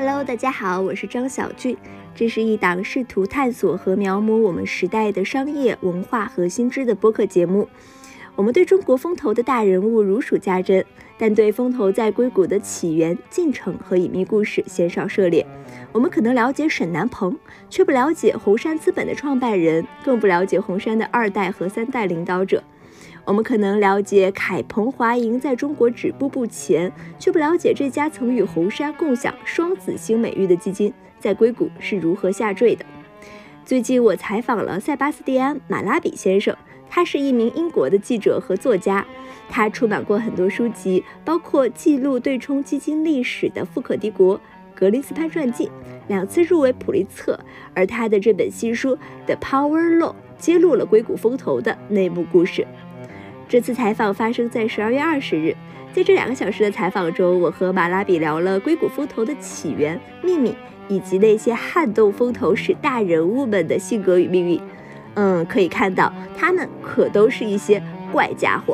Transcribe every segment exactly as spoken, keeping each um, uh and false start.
Hello， 大家好，我是张小俊。这是一档试图探索和描摹我们时代的商业文化和新知的播客节目。我们对中国风投的大人物如数家珍，但对风投在硅谷的起源、进程和隐秘故事鲜少涉猎。我们可能了解沈南鹏，却不了解红杉资本的创办人，更不了解红杉的二代和三代领导者。我们可能了解凯鹏华盈在中国止步不前，却不了解这家曾与红杉共享双子星美誉的基金在硅谷是如何下坠的。最近我采访了塞巴斯蒂安·马拉比先生，他是一名英国的记者和作家，他出版过很多书籍，包括记录对冲基金历史的《富可敌国》、格林斯潘传记，两次入围普利策，而他的这本新书《The Power Law》揭露了硅谷风投的内幕故事。这次采访发生在十二月二十日，在这两个小时的采访中，我和马拉比聊了硅谷风投的起源、秘密，以及那些撼动风投史大人物们的性格与命运。嗯，可以看到，他们可都是一些怪家伙。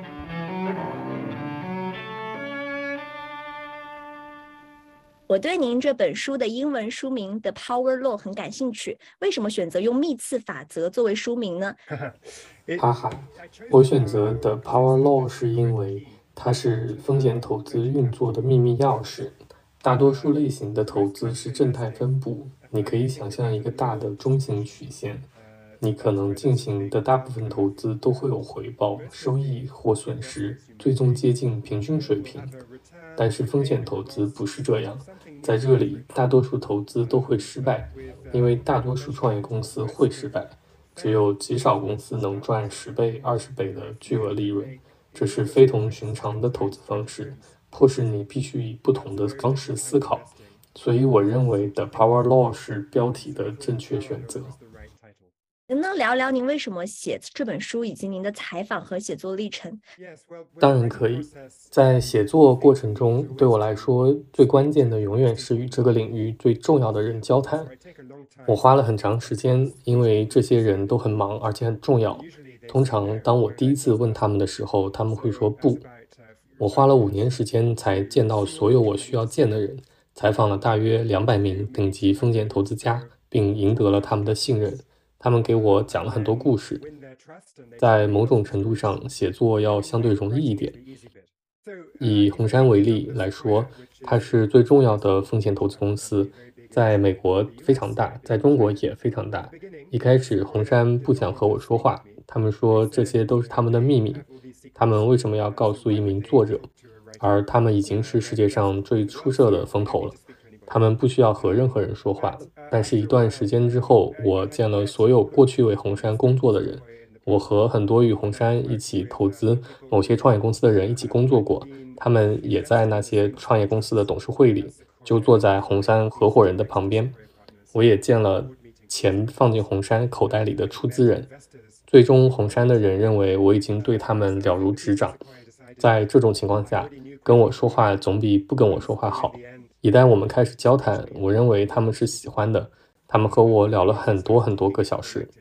我对您这本书的英文书名《The Power Law》很感兴趣，为什么选择用幂次法则作为书名呢？ 哈哈，我选择的 Power Law 是因为它是风险投资运作的秘密钥匙。大多数类型的投资是正态分布，你可以想象一个大的中型曲线，你可能进行的大部分投资都会有回报、收益或损失，最终接近平均水平。但是风险投资不是这样，在这里大多数投资都会失败，因为大多数创业公司会失败。只有极少公司能赚十倍、二十倍的巨额利润，这是非同寻常的投资方式，迫使你必须以不同的方式思考。所以我认为 The Power Law 是标题的正确选择。 能不能聊聊您为什么写这本书，以及您的采访和写作历程？ 当然可以。在写作过程中，对我来说，最关键的永远是与这个领域最重要的人交谈。我花了很长时间，因为这些人都很忙，而且很重要。通常，当我第一次问他们的时候，他们会说不。我花了五年时间才见到所有我需要见的人，采访了大约两百名顶级风险投资家，并赢得了他们的信任。他们给我讲了很多故事。在某种程度上，写作要相对容易一点。以红杉为例来说，它是最重要的风险投资公司，在美国非常大，在中国也非常大。一开始，红杉不想和我说话，他们说这些都是他们的秘密，他们为什么要告诉一名作者？而他们已经是世界上最出色的风投了。他们不需要和任何人说话，但是一段时间之后，我见了所有过去为红杉工作的人，我和很多与红杉一起投资某些创业公司的人一起工作过，他们也在那些创业公司的董事会里，就坐在红杉合伙人的旁边。我也见了钱放进红杉口袋里的出资人，最终红杉的人认为我已经对他们了如指掌。在这种情况下，跟我说话总比不跟我说话好。一旦我们开始交谈，我认为他们是喜欢的，他们和我聊了很多很多个小时。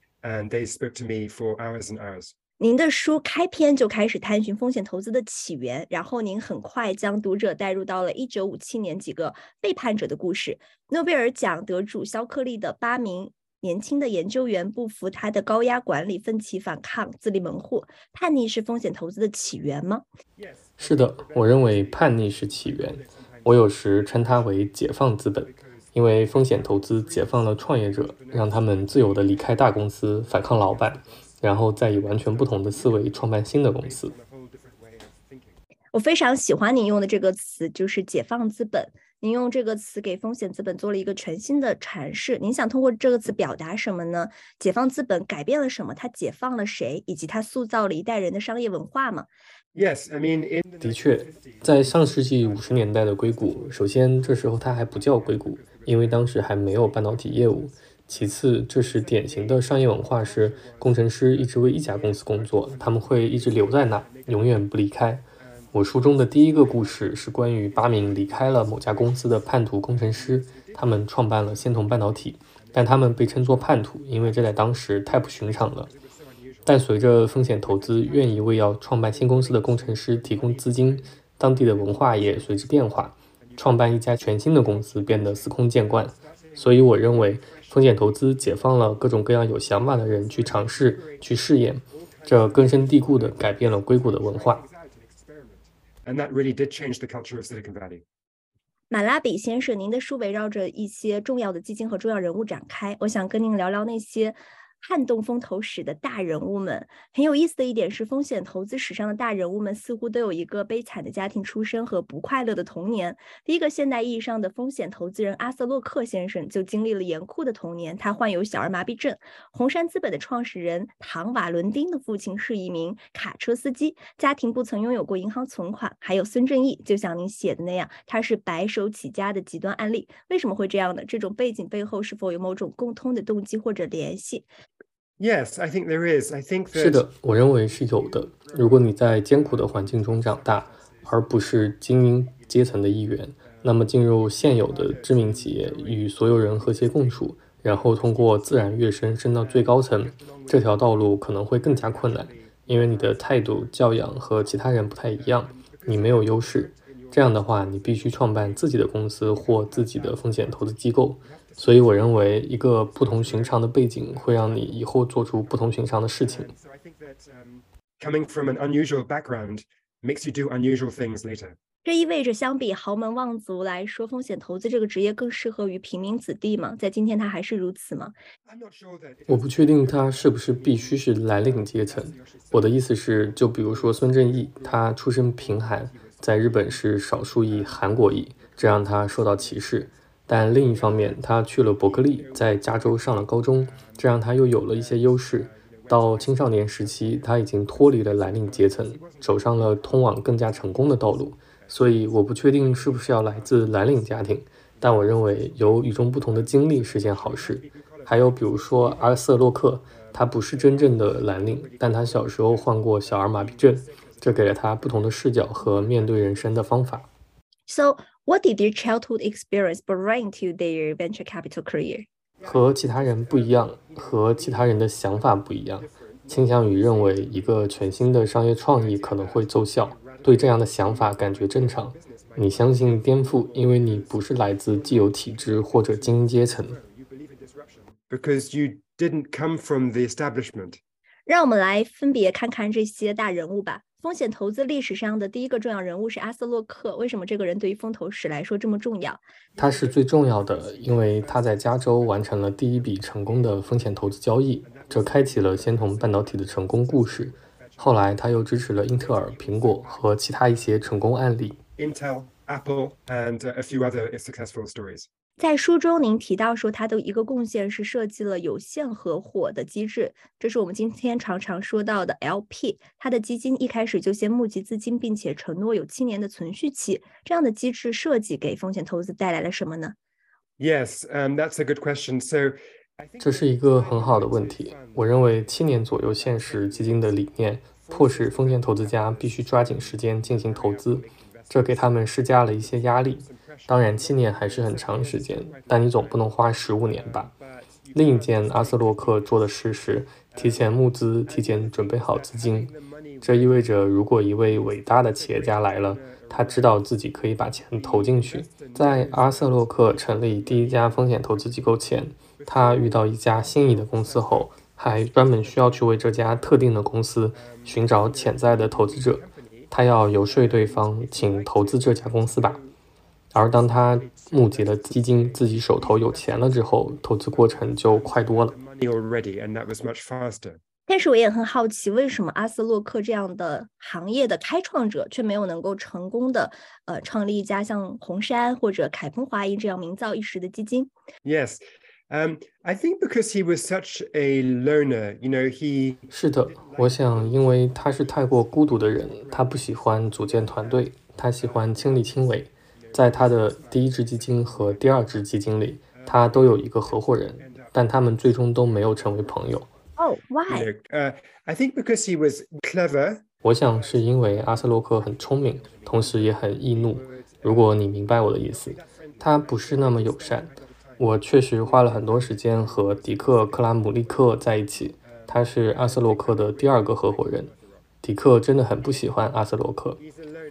您的书开篇就开始探寻风险投资的起源，然后您很快将读者带入到了一九五七年几个背叛者的故事。诺贝尔奖得主肖克利的八名年轻的研究员不服他的高压管理，奋起反抗，自立门户。叛逆是风险投资的起源吗？ 是的，我认为叛逆是起源。我有时称它为解放资本，因为风险投资解放了创业者，让他们自由地离开大公司，反抗老板，然后再以完全不同的思维创办新的公司。 我非常喜欢您用的这个词，就是解放资本。您用这个词给风险资本做了一个全新的阐释，您想通过这个词表达什么呢？解放资本改变了什么？它解放了谁？以及它塑造了一代人的商业文化吗？ Yes, I mean, in... 的确，在上世纪五十年代的硅谷，首先这时候它还不叫硅谷，因为当时还没有半导体业务。其次，这是典型的商业文化，是工程师一直为一家公司工作，他们会一直留在那，永远不离开。我书中的第一个故事是关于八名离开了某家公司的叛徒工程师，他们创办了仙童半导体，但他们被称作叛徒，因为这在当时太不寻常了。但随着风险投资愿意为要创办新公司的工程师提供资金，当地的文化也随之变化。 创办一家全新的公司变得司空见惯。所以我认为风险投资解放了各种各样有想法的人去尝试、去试验，这根深蒂固地改变了硅谷的文化。 马拉比先生，您的书围绕着一些重要的基金和重要人物展开，我想跟您聊聊那些撼动风投史的大人物们。很有意思的一点是，风险投资史上的大人物们似乎都有一个悲惨的家庭出身和不快乐的童年。第一个现代意义上的风险投资人阿瑟洛克先生就经历了严酷的童年，他患有小儿麻痹症。红杉资本的创始人唐瓦伦丁的父亲是一名卡车司机，家庭不曾拥有过银行存款。还有孙正义，就像您写的那样，他是白手起家的极端案例。为什么会这样呢？这种背景背后是否有某种共通的动机或者联系 ？Yes, I think there is. I think that... 是的，我认为是有的。如果你在艰苦的环境中长大，而不是精英阶层的一员，那么进入现有的知名企业，与所有人和谐共处，然后通过自然跃升升到最高层，这条道路可能会更加困难，因为你的态度、教养和其他人不太一样，你没有优势。这样的话，你必须创办自己的公司或自己的风险投资机构。所以我认为一个不同寻常的背景会让你以后做出不同寻常的事情。 这意味着相比豪门望族来说，风险投资这个职业更适合于平民子弟吗？在今天它还是如此吗？ 我不确定它是不是必须是蓝领阶层。我的意思是，就比如说孙正义，他出身贫寒，在日本是少数裔韩国裔，这让他受到歧视。但另一方面，他去了伯克利，在加州上了高中，这让他又有了一些优势。到青少年时期，他已经脱离了蓝领阶层，走上了通往更加成功的道路。所以我不确定是不是要来自蓝领家庭，但我认为有与众不同的经历是件好事。还有比如说阿瑟洛克，他不是真正的蓝领，但他小时候患过小儿麻痹症，这给了他不同的视角和面对人生的方法。 So, what did their childhood experience bring to their venture capital career? 和其他人不一样，和其他人的想法不一样，倾向于认为一个全新的商业创意可能会奏效，对这样的想法感觉正常。你相信颠覆，因为你不是来自既有体制或者精英阶层。 Because you didn't come from the establishment. 让我们来分别看看这些大人物吧。风险投资历史上的第一个重要人物是阿瑟洛克，为什么这个人对于风投史来说这么重要？ 他是最重要的，因为他在加州完成了第一笔成功的风险投资交易，这开启了仙童半导体的成功故事。后来他又支持了英特尔、苹果和其他一些成功案例。 Intel, Apple, and a few other successful stories. 在书中您提到说他的一个贡献是设计了有限合伙的机制，这是我们今天常常说到的 L P。 他的基金一开始就先募集资金，并且承诺有七年的存续期，这样的机制设计给风险投资带来了什么呢？ Yes, um, that's a good question. So, 这是一个很好的问题。我认为七年左右限时基金的理念迫使风险投资家必须抓紧时间进行投资，这给他们施加了一些压力。当然七年还是很长时间，但你总不能花十五年吧。另一件阿瑟洛克做的事是提前募资，提前准备好资金。这意味着如果一位伟大的企业家来了，他知道自己可以把钱投进去。在阿瑟洛克成立第一家风险投资机构前，他遇到一家心仪的公司后，还专门需要去为这家特定的公司寻找潜在的投资者。他要游说对方请投资这家公司吧。而当他募集了基金，自己手头有钱了之后，投资过程就快多了。 但是我也很好奇，为什么阿瑟洛克这样的行业的开创者却没有能够成功的呃创立一家像红杉或者凯鹏华银这样名噪一时的基金？ Yes, um, I think because he was such a loner, you know, he 是的，我想因为他是太过孤独的人，他不喜欢组建团队，他喜欢亲力亲为。在他的第一支基金和第二支基金里，他都有一个合伙人，但他们最终都没有成为朋友。 Oh, why? You know, uh, I think because he was clever. 我想是因为阿瑟洛克很聪明，同时也很易怒。如果你明白我的意思，他不是那么友善。我确实花了很多时间和迪克·克拉姆利克在一起，他是阿瑟洛克的第二个合伙人。迪克真的很不喜欢阿瑟洛克。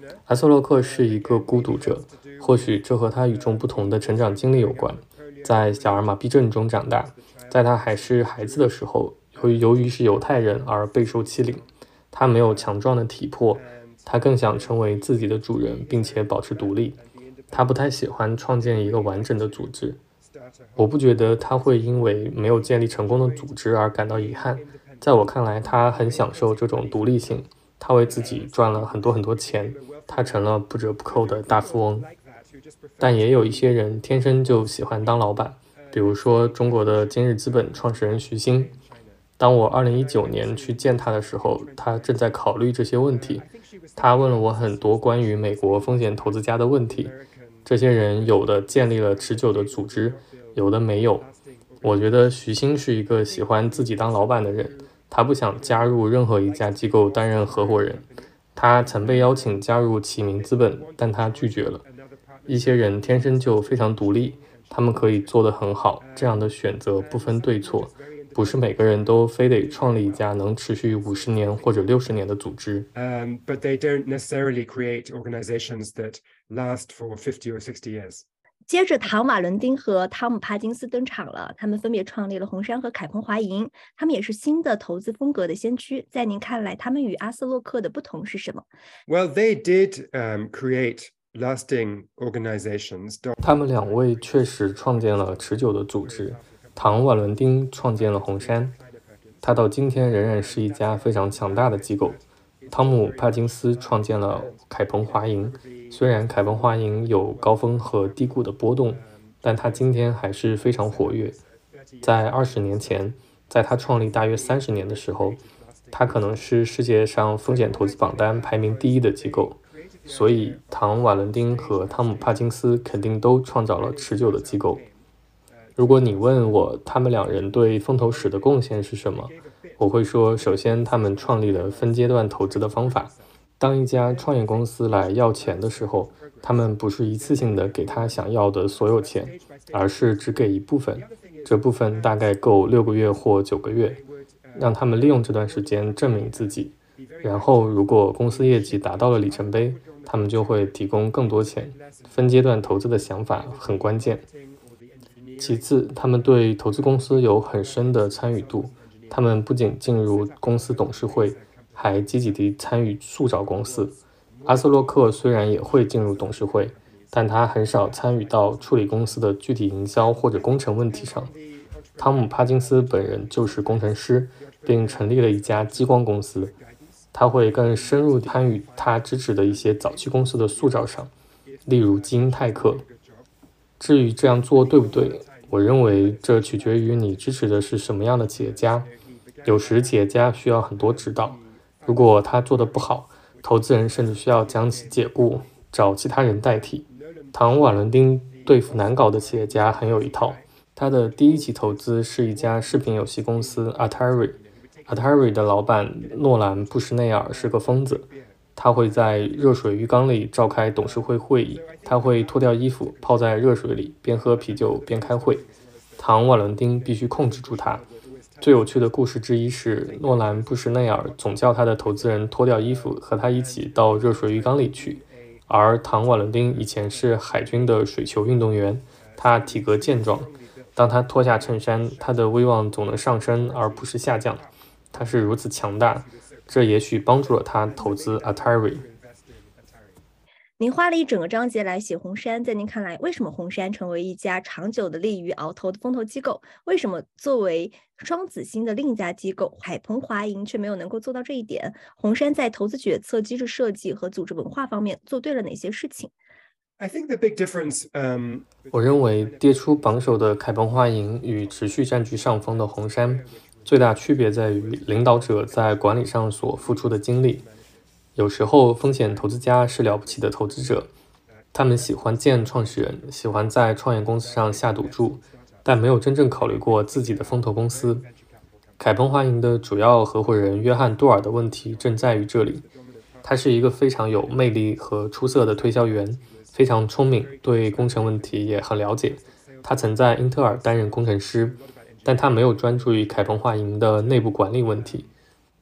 阿瑟洛克是一个孤独者，或许这和他与众不同的成长经历有关。在小儿麻痹症中长大，在他还是孩子的时候，由于由于是犹太人而备受欺凌。他没有强壮的体魄，他更想成为自己的主人，并且保持独立。他不太喜欢创建一个完整的组织。我不觉得他会因为没有建立成功的组织而感到遗憾。在我看来，他很享受这种独立性。他为自己赚了很多很多钱，他成了不折不扣的大富翁。但也有一些人天生就喜欢当老板，比如说中国的今日资本创始人徐新。当我二零一九年去见他的时候，他正在考虑这些问题。他问了我很多关于美国风险投资家的问题。这些人有的建立了持久的组织，有的没有。我觉得徐新是一个喜欢自己当老板的人，他不想加入任何一家机构担任合伙人。他曾被邀请加入启明资本，但他拒绝了。一些人天生就非常独立，他们可以做得很好，这样的选择不分对错。不是每个人都非得创立一家能持续五十年或者六十年的组织。 Um, but they don't necessarily create organizations that last for fifty or sixty years. 接着，唐·瓦伦丁和汤姆·帕金斯登场了，他们分别创立了红杉和凯鹏华银，他们也是新的投资风格的先驱。在您看来，他们与阿斯洛克的不同是什么？ Well, they did um, create lasting organizations. 他们两位确实创建了持久的组织。唐·瓦伦丁创建了红杉，他到今天仍然是一家非常强大的机构。汤姆·帕金斯创建了凯鹏华银，虽然凯鹏华银有高峰和低谷的波动，但他今天还是非常活跃。在二十年前，在他创立大约三十年的时候，他可能是世界上风险投资榜单排名第一的机构。所以，唐·瓦伦丁和汤姆·帕金斯肯定都创造了持久的机构。如果你问我他们两人对风投史的贡献是什么，我会说，首先他们创立了分阶段投资的方法。当一家创业公司来要钱的时候，他们不是一次性的给他想要的所有钱，而是只给一部分，这部分大概够六个月或九个月，让他们利用这段时间证明自己。然后如果公司业绩达到了里程碑，他们就会提供更多钱。分阶段投资的想法很关键。其次，他们对投资公司有很深的参与度，他们不仅进入公司董事会，还积极地参与塑造公司。阿斯洛克虽然也会进入董事会，但他很少参与到处理公司的具体营销或者工程问题上。汤姆·帕金斯本人就是工程师，并成立了一家激光公司，他会更深入参与他支持的一些早期公司的塑造上，例如基因泰克。至于这样做对不对，我认为这取决于你支持的是什么样的企业家。有时企业家需要很多指导，如果他做得不好，投资人甚至需要将其解雇，找其他人代替。唐·瓦伦丁对付难搞的企业家很有一套。他的第一起投资是一家视频游戏公司 Atari。Atari 的老板诺兰·布什内尔是个疯子，他会在热水浴缸里召开董事会会议，他会脱掉衣服泡在热水里，边喝啤酒边开会。唐·瓦伦丁必须控制住他。最有趣的故事之一是，诺兰·布什内尔总叫他的投资人脱掉衣服和他一起到热水浴缸里去，而唐·瓦伦丁以前是海军的水球运动员，他体格健壮，当他脱下衬衫，他的威望总能上升而不是下降。他是如此强大，这也许帮助了他投资 Atari。 您花了一整个章节来写红杉，在您看来，为什么红杉成为一家长久的利于鳌头的风投机构？为什么作为双子星的另一家机构海鹏华银却没有能够做到这一点？红杉在投资决策、机制设计和组织文化方面做对了哪些事情？ I think the big difference, um, 我认为跌出榜首的凯鹏华银与持续占据上风的红杉最大区别在于领导者在管理上所付出的精力。有时候风险投资家是了不起的投资者，他们喜欢见创始人，喜欢在创业公司上下赌注，但没有真正考虑过自己的风投公司。凯鹏华银的主要合伙人约翰·杜尔的问题正在于这里。他是一个非常有魅力和出色的推销员，非常聪明，对工程问题也很了解。他曾在英特尔担任工程师，但他没有专注于凯鹏华银的内部管理问题。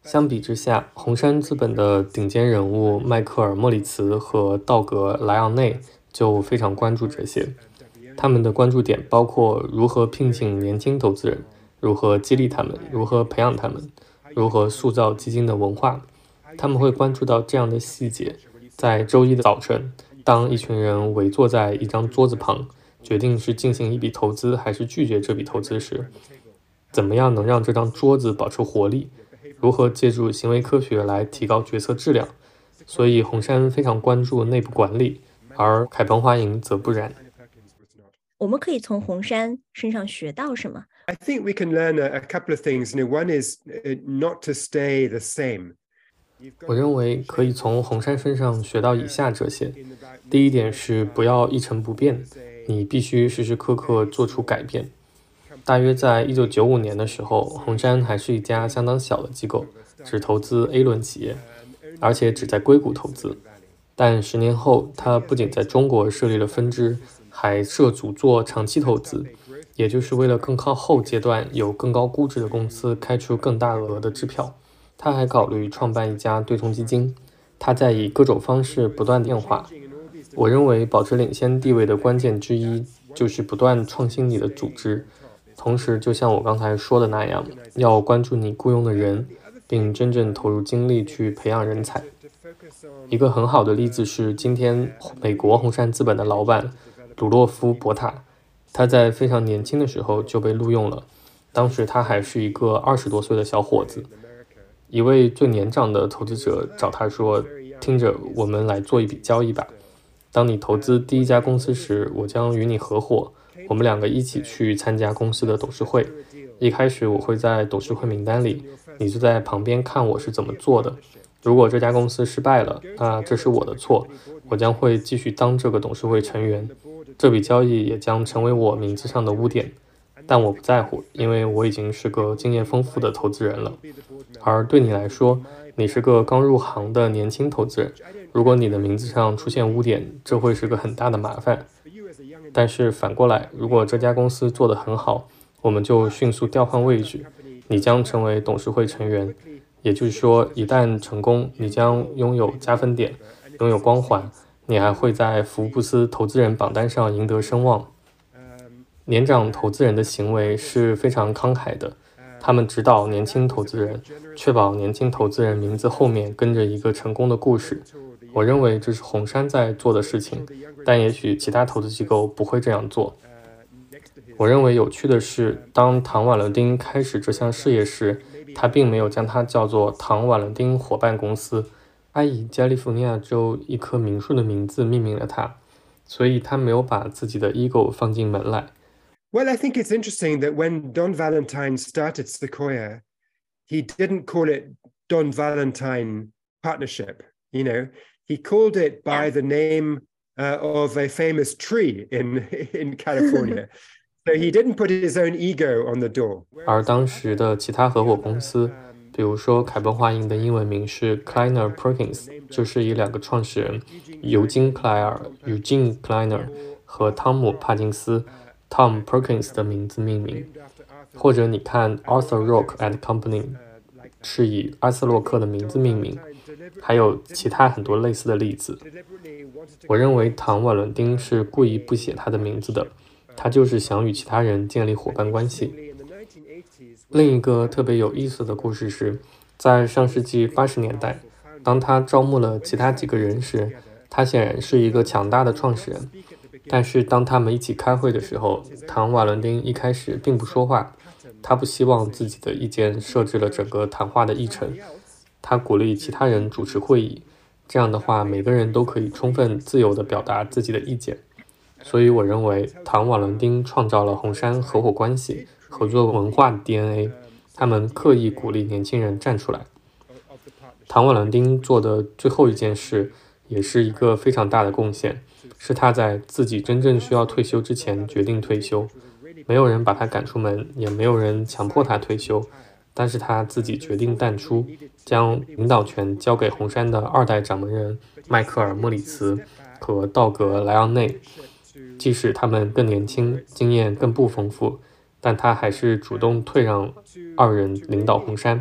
相比之下，红杉资本的顶尖人物迈克尔·莫里茨和道格·莱昂内就非常关注这些。他们的关注点包括如何聘请年轻投资人，如何激励他们，如何培养他们，如何塑造基金的文化。他们会关注到这样的细节：在周一的早晨，当一群人围坐在一张桌子旁，决定是进行一笔投资还是拒绝这笔投资时，怎么样能让这张桌子保持活力？如何借助行为科学来提高决策质量？所以红杉非常关注内部管理，而凯鹏华盈则不然。 我们可以从红杉身上学到什么？ I think we can learn a, a couple of things. You know, one is not to stay the same. 我认为可以从红杉身上学到以下这些。第一点是不要一成不变，你必须时时刻刻做出改变。大约在一九九五年的时候，红杉还是一家相当小的机构，只投资 A 轮企业，而且只在硅谷投资。但十年后，它不仅在中国设立了分支，还涉足做长期投资，也就是为了更靠后阶段有更高估值的公司开出更大额的支票。他还考虑创办一家对冲基金，他在以各种方式不断变化。我认为保持领先地位的关键之一就是不断创新你的组织，同时就像我刚才说的那样，要关注你雇佣的人，并真正投入精力去培养人才。一个很好的例子是今天美国红杉资本的老板鲁洛夫·博塔，他在非常年轻的时候就被录用了，当时他还是一个二十多岁的小伙子。一位最年长的投资者找他说，听着，我们来做一笔交易吧。当你投资第一家公司时，我将与你合伙，我们两个一起去参加公司的董事会。一开始我会在董事会名单里，你就在旁边看我是怎么做的。如果这家公司失败了，那这是我的错，我将会继续当这个董事会成员。这笔交易也将成为我名字上的污点，但我不在乎，因为我已经是个经验丰富的投资人了。而对你来说，你是个刚入行的年轻投资人，如果你的名字上出现污点，这会是个很大的麻烦。但是反过来，如果这家公司做得很好，我们就迅速调换位置，你将成为董事会成员。也就是说，一旦成功，你将拥有加分点，拥有光环，你还会在福布斯投资人榜单上赢得声望。年长投资人的行为是非常慷慨的，他们指导年轻投资人，确保年轻投资人名字后面跟着一个成功的故事。我认为这是红杉在做的事情，但也许其他投资机构不会这样做。我认为有趣的是，当唐·瓦伦丁开始这项事业时，他并没有将它叫做唐·瓦伦丁伙伴公司，他以加利福尼亚州一棵名树的名字命名了它，所以他没有把自己的 ego 放进门来。 Well, I think it's interesting that when Don Valentine started Sequoia, he didn't call it Don Valentine Partnership. You know, he called it by the name uh, of a famous tree in in California. So he didn't put his own ego on the door. 而当时的其他合伙公司，比如说凯鹏华盈的英文名是 Kleiner Perkins， 就是以两个创始人尤金·克莱尔 （Eugene Kleiner） 和汤姆·帕金斯 （Tom Perkins） 的名字命名。或者你看 Arthur Rock and Company 是以阿瑟洛克的名字命名，还有其他很多类似的例子。我认为唐·瓦伦丁是故意不写他的名字的，他就是想与其他人建立伙伴关系。另一个特别有意思的故事是，在上世纪八十年代，当他招募了其他几个人时，他显然是一个强大的创始人。但是当他们一起开会的时候，唐·瓦伦丁一开始并不说话，他不希望自己的意见设置了整个谈话的议程，他鼓励其他人主持会议，这样的话每个人都可以充分自由地表达自己的意见。所以我认为唐·瓦伦丁创造了红杉合伙关系合作文化的 D N A， 他们刻意鼓励年轻人站出来。唐·瓦伦丁做的最后一件事也是一个非常大的贡献，是他在自己真正需要退休之前决定退休，没有人把他赶出门，也没有人强迫他退休，但是他自己决定淡出，将领导权交给红杉的二代掌门人迈克尔·莫里茨和道格·莱昂内。即使他们更年轻，经验更不丰富，但他还是主动退让二人领导红杉。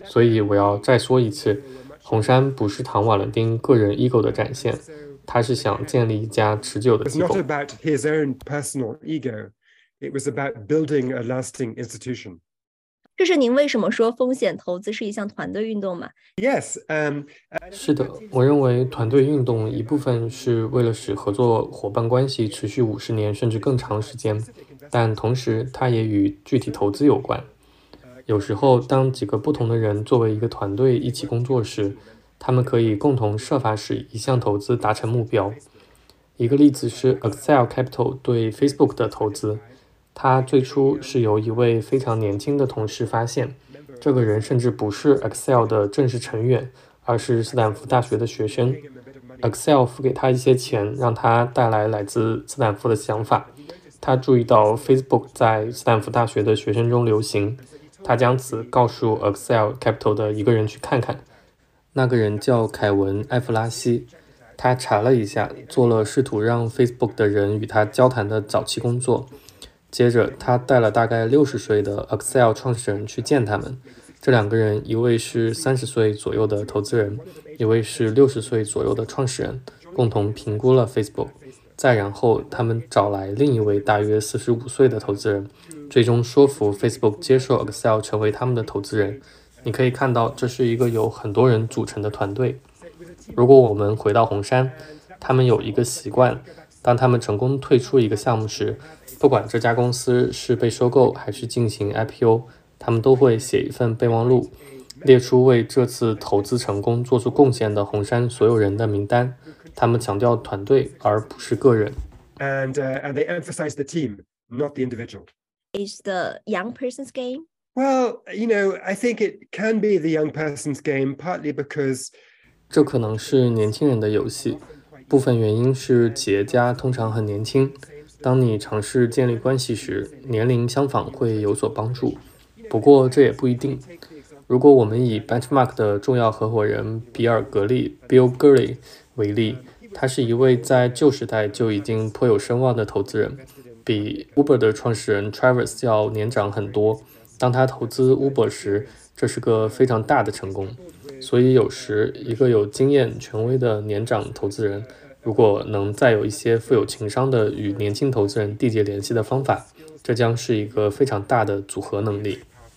所以我要再说一次，红杉不是唐瓦伦丁个人 ego 的展现，他是想建立一家持久的 It was 机 not 构。 about his own personal ego. It was about building a lasting institution. 这是您为什么说风险投资是一项团队运动吗？ Yes, um, 是的，我认为团队运动一部分是为了使合作伙伴关系持续五十年甚至更长时间，但同时它也与具体投资有关。有时候，当几个不同的人作为一个团队一起工作时，他们可以共同设法使一项投资达成目标。一个例子是 Accel Capital 对 Facebook 的投资，它最初是由一位非常年轻的同事发现，这个人甚至不是 Accel 的正式成员，而是斯坦福大学的学生。Accel 付给他一些钱，让他带来来自斯坦福的想法。他注意到 Facebook 在斯坦福大学的学生中流行，他将此告诉 Accel Capital 的一个人去看看。那个人叫凯文·艾弗拉西。他查了一下，做了试图让 Facebook 的人与他交谈的早期工作。接着，他带了大概六十岁的 Accel 创始人去见他们。这两个人，一位是三十岁左右的投资人，一位是六十岁左右的创始人，共同评估了 Facebook。再然后，他们找来另一位大约四十五岁的投资人，最终说服 Facebook 接受 Accel 成为他们的投资人。你可以看到，这是一个由很多人组成的团队。如果我们回到红杉，他们有一个习惯，当他们成功退出一个项目时，不管这家公司是被收购还是进行 I P O， 他们都会写一份备忘录，列出为这次投资成功做出贡献的红杉所有人的名单。他们强调团队而不是个人。 and uh, and they emphasize the team, not the individual. Is the young person's game? Well, you know, I think it can be the young person's game, partly because 这可能是年轻人的游戏，部分原因是企业家通常很年轻。当你尝试建立关系时，年龄相仿会有所帮助。不过这也不一定。如果我们以 Benchmark 的重要合伙人比尔·格利 （Bill Gurley） 为例，他是一位在旧时代就已经颇有声望的投资人，比 Uber 的创始人 Travis 要年长很多。当他投资 Uber 时，这是个非常大的成功。所以有时一个有经验、权威的年长投资人，如果能再有一些富有情商的与年轻投资人缔结联系的方法，这将是一个非常大的组合能力。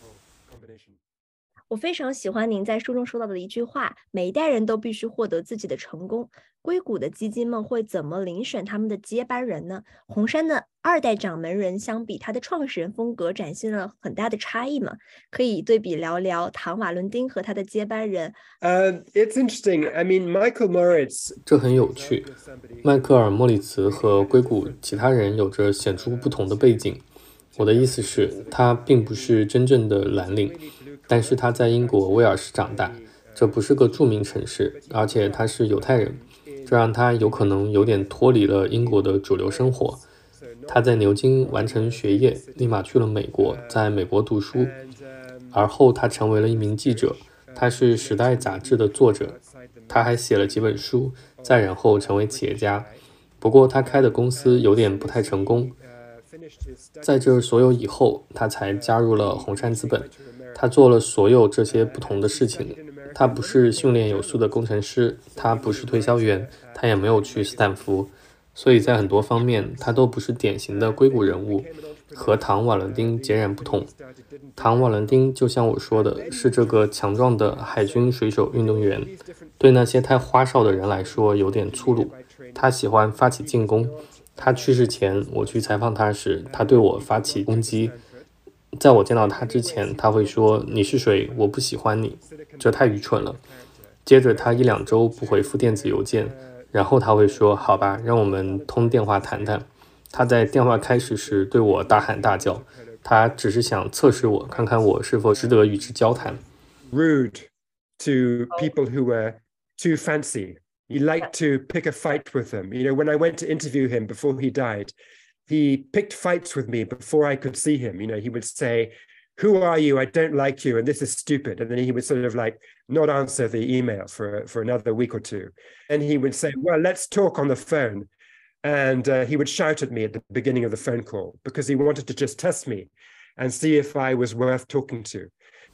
我非常喜欢您在书中说到的一句话：每一代人都必须获得自己的成功。硅谷的基金们会怎么遴选他们的接班人呢？红杉的二代掌门人相比他的创始人风格展现了很大的差异吗？可以对比聊聊唐瓦伦丁和他的接班人。 uh, it's interesting. I mean, Michael Moritz. 这很有趣。迈克尔·莫里茨和硅谷其他人有着显著不同的背景。我的意思是，他并不是真正的蓝领，但是他在英国威尔士长大，这不是个著名城市，而且他是犹太人，这让他有可能有点脱离了英国的主流生活。他在牛津完成学业，立马去了美国，在美国读书，而后他成为了一名记者，他是《时代》杂志的作者，他还写了几本书，再然后成为企业家。不过他开的公司有点不太成功。在这所有以后，他才加入了红杉资本。他做了所有这些不同的事情。他不是训练有素的工程师，他不是推销员，他也没有去斯坦福。所以在很多方面，他都不是典型的硅谷人物，和唐·瓦伦丁截然不同。唐·瓦伦丁就像我说的，是这个强壮的海军水手运动员，对那些太花哨的人来说有点粗鲁。他喜欢发起进攻。他去世前，我去采访他时，他对我发起攻击。在我见到他之前，他会说：“你是谁？我不喜欢你。”这太愚蠢了。接着他一两周不回复电子邮件，然后他会说：“好吧，让我们通电话谈谈。”他在电话开始时对我大喊大叫，他只是想测试我，看看我是否值得与之交谈。 Rude to people who were too fancy. He liked to pick a fight with them. You know, when I went to interview him before he died, he picked fights with me before I could see him. You know, he would say, "Who are you? I don't like you, and this is stupid." And then he would sort of like not answer the email for, for another week or two. And he would say, "Well, let's talk on the phone." And uh, he would shout at me at the beginning of the phone call because he wanted to just test me and see if I was worth talking to.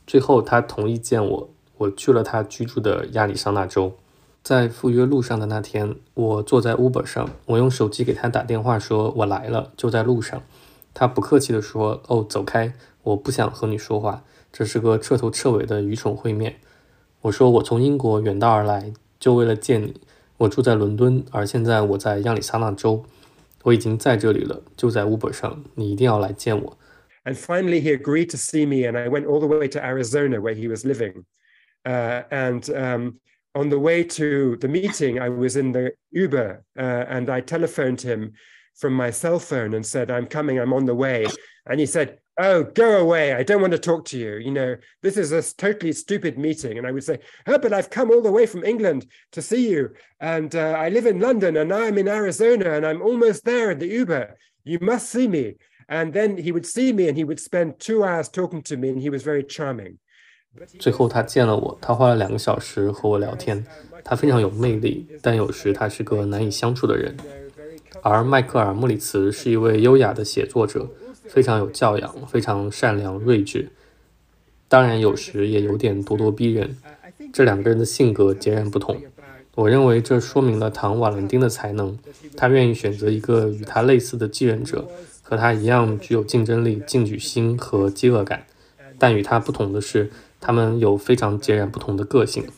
最后他同意见我，我去了他居住的亚利桑那州。在赴约路上的那天，我坐在 Uber 上，我用手机给他打电话说我来了，就在路上。他不客气地说，哦，走开，我不想和你说话，这是个彻头彻尾的愚蠢会面。我说我从英国远道而来，就为了见你。我住在伦敦，而现在我在亚利桑那州，我已经在这里了，就在 Uber 上，你一定要来见我。 And finally he agreed to see me, and I went all the way to Arizona where he was living. Uh, and um, on the way to the meeting, I was in the Uber, uh, and I telephoned him from my cell phone and said, I'm coming, I'm on the way. And he said, oh, go away, I don't want to talk to you. You know, this is a totally stupid meeting. And I would say, oh, but I've come all the way from England to see you. And uh, I live in London, and now I'm in Arizona, and I'm almost there in the Uber. You must see me. And then he would see me, and he would spend two hours talking to me, and he was very charming. 最后他见了我，他花了两个小时和我聊天。他非常有魅力，但有时他是个难以相处的人。而迈克尔·莫里茨是一位优雅的写作者，非常有教养，非常善良睿智，当然有时也有点咄咄逼人。这两个人的性格截然不同。我认为这说明了唐·瓦伦丁的才能，他愿意选择一个与他类似的继任者，和他一样具有竞争力、进取心和饥饿感。但与他不同的是，他们有非常截然不同的个性。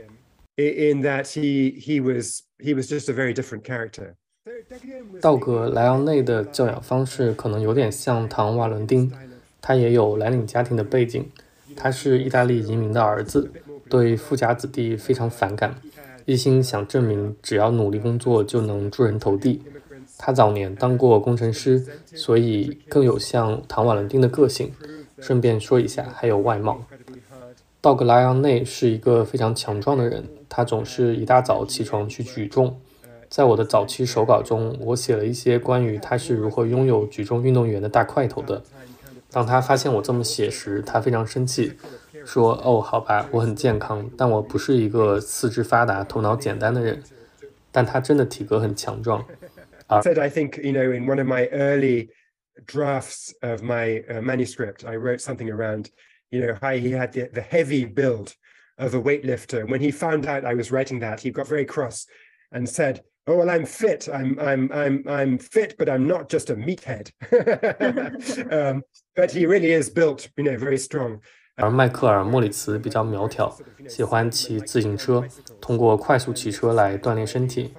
In that he he was he was just a very different character. 道格·莱昂内的教养方式可能有点像唐·瓦伦丁，他也有蓝领家庭的背景，他是意大利移民的儿子，对富家子弟非常反感，一心想证明只要努力工作就能出人头地。他早年当过工程师，所以更有像唐·瓦伦丁的个性。顺便说一下，还有外貌。道格·莱昂内是一个非常强壮的人，他总是一大早起床去举重。在我的早期手稿中，我写了一些关于他是如何拥有举重运动员的大块头的。当他发现我这么写时，他非常生气，说：“哦，好吧，我很健康，但我不是一个四肢发达、头脑简单的人。”但他真的体格很强壮。 I said, I think, you know, in one of my early drafts of my uh, manuscript, I wrote something around, you know, how he had the, the heavy build of a weightlifter. When he found out I was writing that, he got very cross and said, "Oh, well, I'm fit. I'm I'm I'm I'm fit, but I'm not just a meathead." um, but he really is built, you know, very strong. 而迈克尔·莫里茨比较苗条，喜欢骑自行车，通过快速骑车来锻炼身体。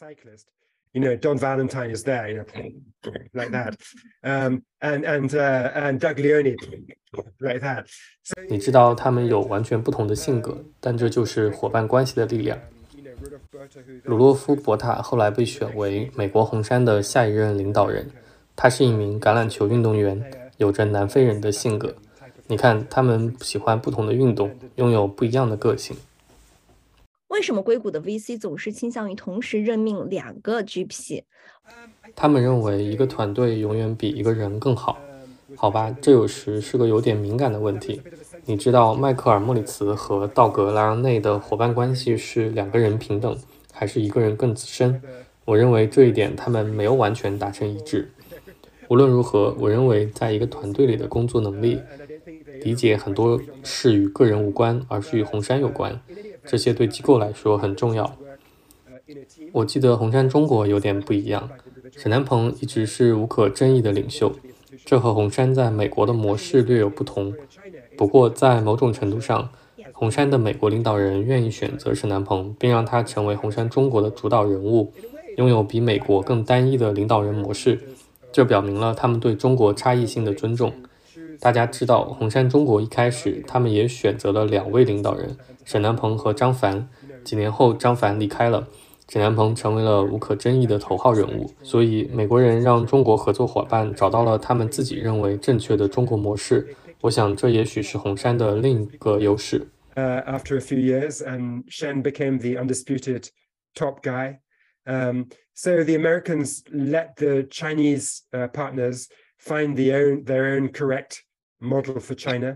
You know, Don Valentine is there, you know, like that, um, and and uh, and Doug Leone, like that. 你知道他们有完全不同的性格，但这就是伙伴关系的力量。鲁洛夫·博塔后来被选为美国红杉的下一任领导人，他是一名橄榄球运动员，有着南非人的性格。你看，他们喜欢不同的运动，拥有不一样的个性。 为什么硅谷的 V C 总是倾向于同时任命两个 G P？ 他们认为一个团队永远比一个人更好。好吧，这有时是个有点敏感的问题。你知道迈克尔·莫里茨和道格·莱昂内的伙伴关系是两个人平等，还是一个人更资深？我认为这一点他们没有完全达成一致。无论如何，我认为在一个团队里的工作能力，理解很多事与个人无关，而是与红杉有关。这些对机构来说很重要。我记得红杉中国有点不一样，沈南鹏一直是无可争议的领袖，这和红杉在美国的模式略有不同。不过在某种程度上，红杉的美国领导人愿意选择沈南鹏，并让他成为红杉中国的主导人物，拥有比美国更单一的领导人模式，这表明了他们对中国差异性的尊重。大家知道，红杉中国一开始他们也选择了两位领导人，沈南鹏和张帆。几年后张帆离开了，沈南鹏成为了无可争议的头号人物。所以美国人让中国合作伙伴找到了他们自己认为正确的中国模式，我想这也许是红杉的另一个优势。 Uh, after a few years, and Shen became the undisputed top guy. Um, so the Americans let the Chinese uh, partners find the own, their own correct model for China,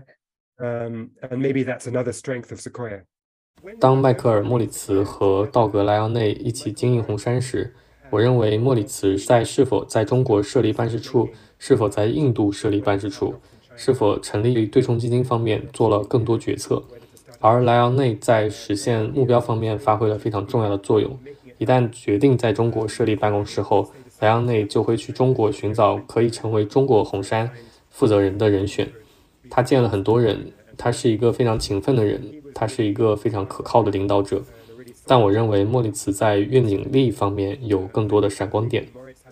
um, and maybe that's another strength of Sequoia. 当迈克尔·莫里茨和道格·莱昂内一起经营红杉时，我认为莫里茨在是否在中国设立办事处，是否在印度设立办事处， 是否成立对冲基金方面做了更多决策，而莱昂内在实现目标方面发挥了非常重要的作用。一旦决定在中国设立办公室后，莱昂内就会去中国寻找可以成为中国红杉负责人的人选。他见了很多人，他是一个非常勤奋的人，他是一个非常可靠的领导者。但我认为莫里茨在愿景力方面有更多的闪光点。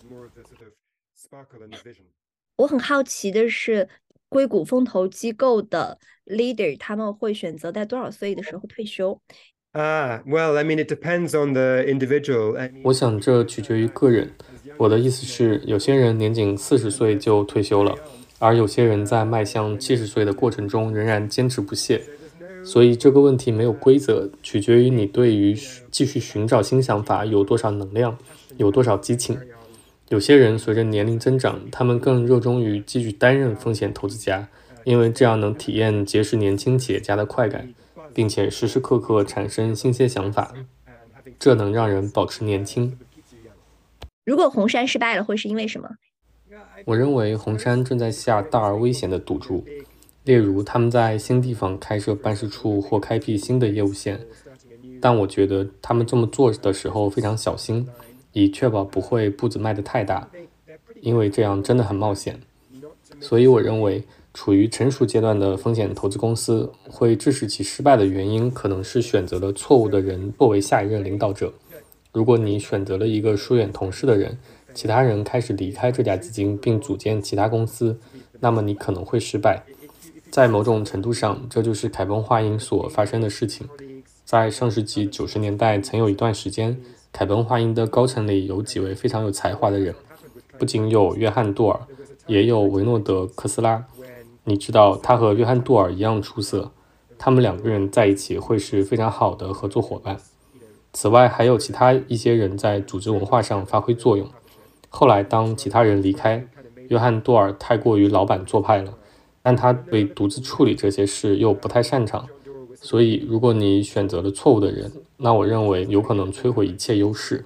我很好奇的是，硅谷风投机构的 leader 他们会选择在多少岁的时候退休？ Ah, well, I mean, it depends on the individual. I mean, 我想这取决于个人。我的意思是，有些人年仅四十岁就退休了，而有些人在迈向七十岁的过程中仍然坚持不懈。所以这个问题没有规则，取决于你对于继续寻找新想法有多少能量，有多少激情。有些人随着年龄增长，他们更热衷于继续担任风险投资家，因为这样能体验结识年轻企业家的快感，并且时时刻刻产生新鲜想法，这能让人保持年轻。 如果红杉失败了，会是因为什么？ 我认为红杉正在下大而危险的赌注，例如他们在新地方开设办事处或开辟新的业务线，但我觉得他们这么做的时候非常小心，以确保不会步子迈得太大，因为这样真的很冒险。所以我认为处于成熟阶段的风险投资公司会致使其失败的原因可能是选择了错误的人作为下一任领导者。如果你选择了一个疏远同事的人，其他人开始离开这家基金并组建其他公司，那么你可能会失败。在某种程度上，这就是凯崩话音所发生的事情。在上世纪九十年代，曾有一段时间，凯崩话音的高层里有几位非常有才华的人，不仅有约翰·杜尔，也有维诺德·科斯拉。你知道，他和约翰·杜尔一样出色，他们两个人在一起会是非常好的合作伙伴。此外，还有其他一些人在组织文化上发挥作用。后来，当其他人离开，约翰·杜尔太过于老板做派了，但他对独自处理这些事又不太擅长。所以，如果你选择了错误的人，那我认为有可能摧毁一切优势。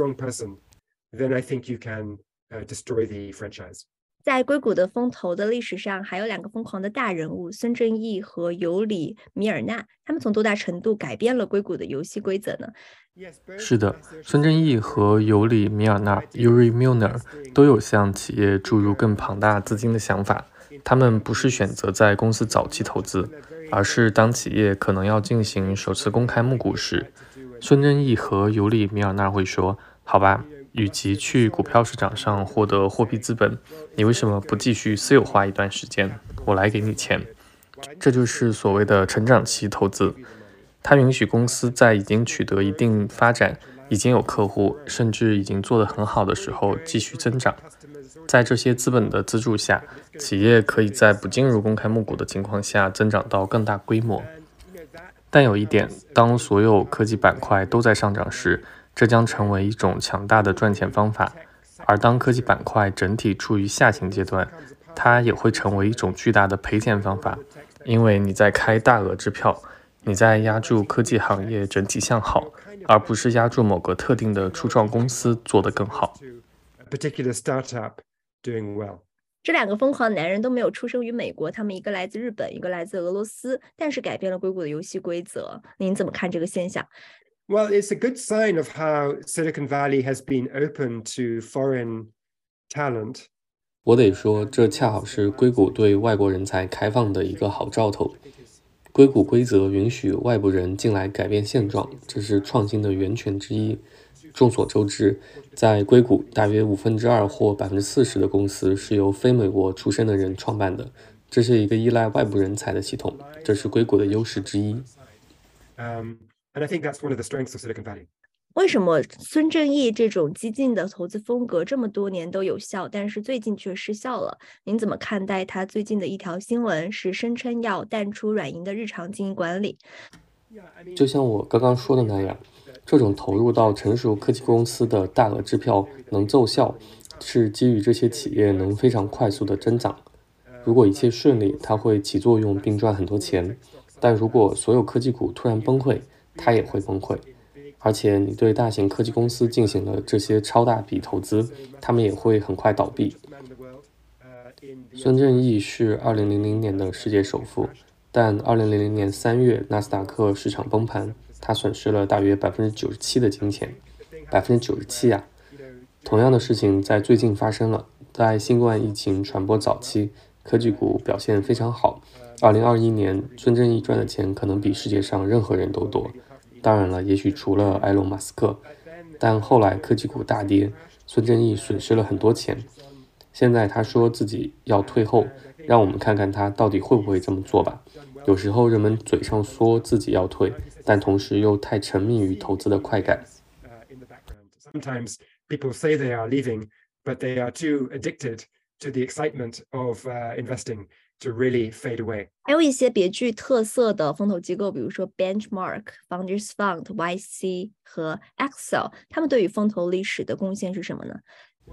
在硅谷的风投的历史上，还有两个疯狂的大人物，孙正义和尤里·米尔纳，他们从多大程度改变了硅谷的游戏规则呢？ 是的，孙正义和尤里·米尔纳 （Yuri Milner） 都有向企业注入更庞大资金的想法。他们不是选择在公司早期投资，而是当企业可能要进行首次公开募股时，孙正义和尤里·米尔纳会说：“好吧。”与其去股票市场上获得货币资本，你为什么不继续私有化一段时间？我来给你钱。这就是所谓的成长期投资。它允许公司在已经取得一定发展、已经有客户，甚至已经做得很好的时候继续增长。在这些资本的资助下，企业可以在不进入公开募股的情况下增长到更大规模。但有一点，当所有科技板块都在上涨时，这将成为一种强大的赚钱方法，而当科技板块整体处于下行阶段，它也会成为一种巨大的赔钱方法，因为你在开大额支票，你在压住科技行业整体向好，而不是压住某个特定的初创公司做得更好。 这两个疯狂的男人都没有出生于美国，他们一个来自日本，一个来自俄罗斯，但是改变了硅谷的游戏规则。您怎么看这个现象 ？Well, it's a good sign of how Silicon Valley has been open to foreign talent. 我得说，这恰好是硅谷对外国人才开放的一个好兆头。硅谷规则允许外部人进来改变现状，这是创新的源泉之一。众所周知，在硅谷，大约五分之二或百分之四十的公司是由非美国出身的人创办的。这是一个依赖外部人才的系统，这是硅谷的优势之一。 Um, And I think that's one of the strengths of Silicon Valley. 为什么孙正义这种激进的投资风格这么多年都有效，但是最近却失效了？您怎么看待他最近的一条新闻，是声称要淡出软银的日常经营管理？ 就像我刚刚说的那样，这种投入到成熟科技公司的大额支票能奏效，是基于这些企业能非常快速的增长。如果一切顺利，它会起作用并赚很多钱。但如果所有科技股突然崩溃，它也会崩溃。而且你对大型科技公司进行了这些超大笔投资，他们也会很快倒闭。 孙正义是二零零零年的世界首富，但二零零零年三月纳斯达克市场崩盘，他损失了大约百分之九十七的金钱，百分之九十七啊！同样的事情在最近发生了，在新冠疫情传播早期，科技股表现非常好。二零二一年，孙正义赚的钱可能比世界上任何人都多。当然了，也许除了埃隆·马斯克，但后来科技股大跌，孙正义损失了很多钱。现在他说自己要退后，让我们看看他到底会不会这么做吧。有时候人们嘴上说自己要退，但同时又太沉迷于投资的快感。 Sometimes people say they are leaving, but they are too addicted to the excitement of uh, investing to really fade away. 还有一些别具特色的风投机构，比如说 Benchmark、Founders Fund、Y C 和 Accel， 他们对于风投历史的贡献是什么呢？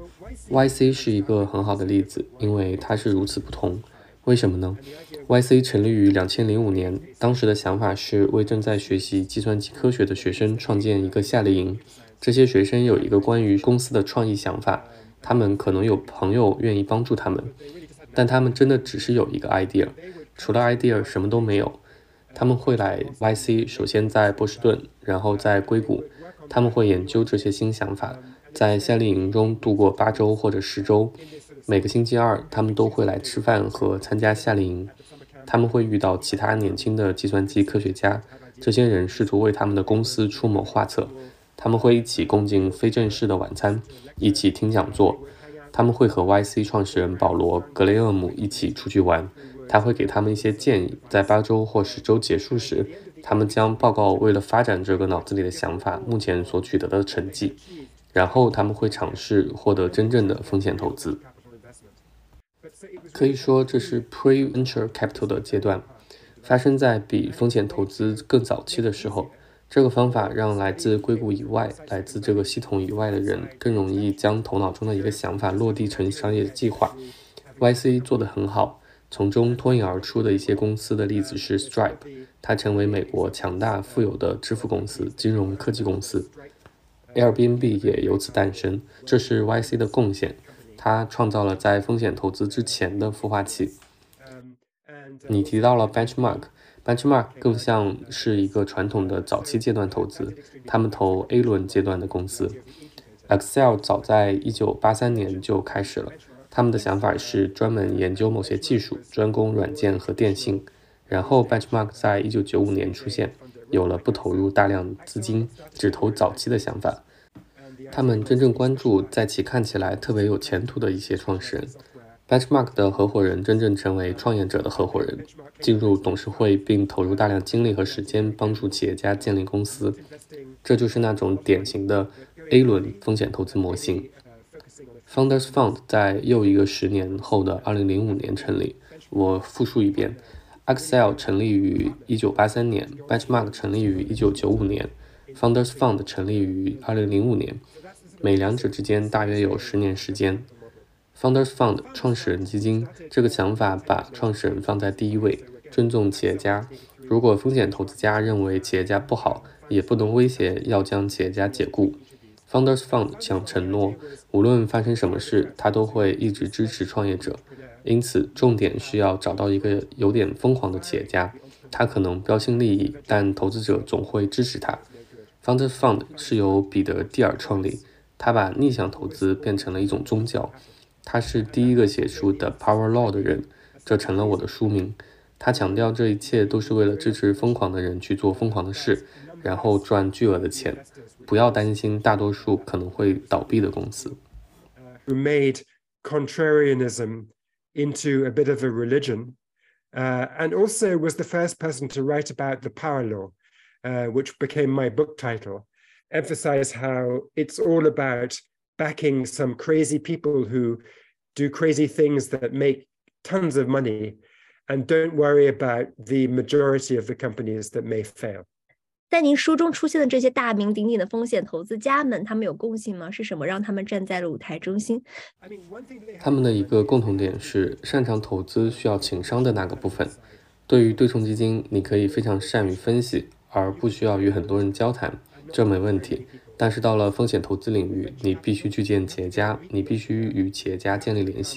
Y C 是一个很好的例子，因为它是如此不同。为什么呢？ Y C 成立于两千零五年，当时的想法是为正在学习计算机科学的学生创建一个夏令营。这些学生有一个关于公司的创意想法，他们可能有朋友愿意帮助他们，但他们真的只是有一个 idea， 除了 idea 什么都没有。他们会来 Y C， 首先在波士顿，然后在硅谷，他们会研究这些新想法，在夏令营中度过八周或者十周。每个星期二，他们都会来吃饭和参加夏令营。他们会遇到其他年轻的计算机科学家，这些人试图为他们的公司出谋划策。他们会一起共进非正式的晚餐，一起听讲座。他们会和 Y C 创始人保罗·格雷厄姆一起出去玩，他会给他们一些建议。在八周或十周结束时，他们将报告为了发展这个脑子里的想法目前所取得的成绩，然后他们会尝试获得真正的风险投资。可以说这是 pre-venture capital 的阶段，发生在比风险投资更早期的时候。这个方法让来自硅谷以外、来自这个系统以外的人更容易将头脑中的一个想法落地成商业计划。Y C 做得很好，从中脱颖而出的一些公司的例子是 Stripe， 它成为美国强大富有的支付公司、金融科技公司。Airbnb 也由此诞生，这是 Y C 的贡献，它创造了在风险投资之前的孵化器。你提到了 Benchmark。Benchmark 更像是一个传统的早期阶段投资，他们投 A 轮阶段的公司。Accel 早在一九八三年就开始了，他们的想法是专门研究某些技术，专攻软件和电信。然后 Benchmark 在一九九五年出现，有了不投入大量资金，只投早期的想法。他们真正关注在其看起来特别有前途的一些创始人。Benchmark 的合伙人真正成为创业者的合伙人，进入董事会并投入大量精力和时间帮助企业家建立公司。这就是那种典型的 A 轮风险投资模型。Founders Fund 在又一个十年后的二零零五年成立。我复述一遍 Accel 成立于一九八三年， Benchmark 成立于一九九五年， Founders Fund 成立于二零零五年，每两者之间大约有十年时间。Founders Fund 创始人基金这个想法把创始人放在第一位，尊重企业家。如果风险投资家认为企业家不好，也不能威胁要将企业家解雇。Founders Fund 想承诺，无论发生什么事，他都会一直支持创业者。因此，重点是要找到一个有点疯狂的企业家，他可能标新立异，但投资者总会支持他。Founders Fund 是由彼得·蒂尔创立，他把逆向投资变成了一种宗教。他是第一个写出的 Power Law 的人，这成了我的书名。他强调这一切都是为了支持疯狂的人去做疯狂的事，然后赚巨额的钱。不要担心大多数可能会倒闭的公司。 Who made contrarianism into a bit of a religion, uh, and also was the first person to write about the power law, uh, which became my book title, emphasize how it's all about backing some crazy people who do crazy things that make tons of money and don't worry about the majority of the companies that may fail. 在您书中出现的这些大名鼎鼎的风险投资家们，他们有共性吗？是什么让他们站在了舞台中心？ 他们的一个共同点是擅长投资需要情商的那个部分。对于对冲基金，你可以非常善于分析，而不需要与很多人交谈，这没问题。但是到了风险投资领域，你必须去见企业家，你必须与企业家建立联系，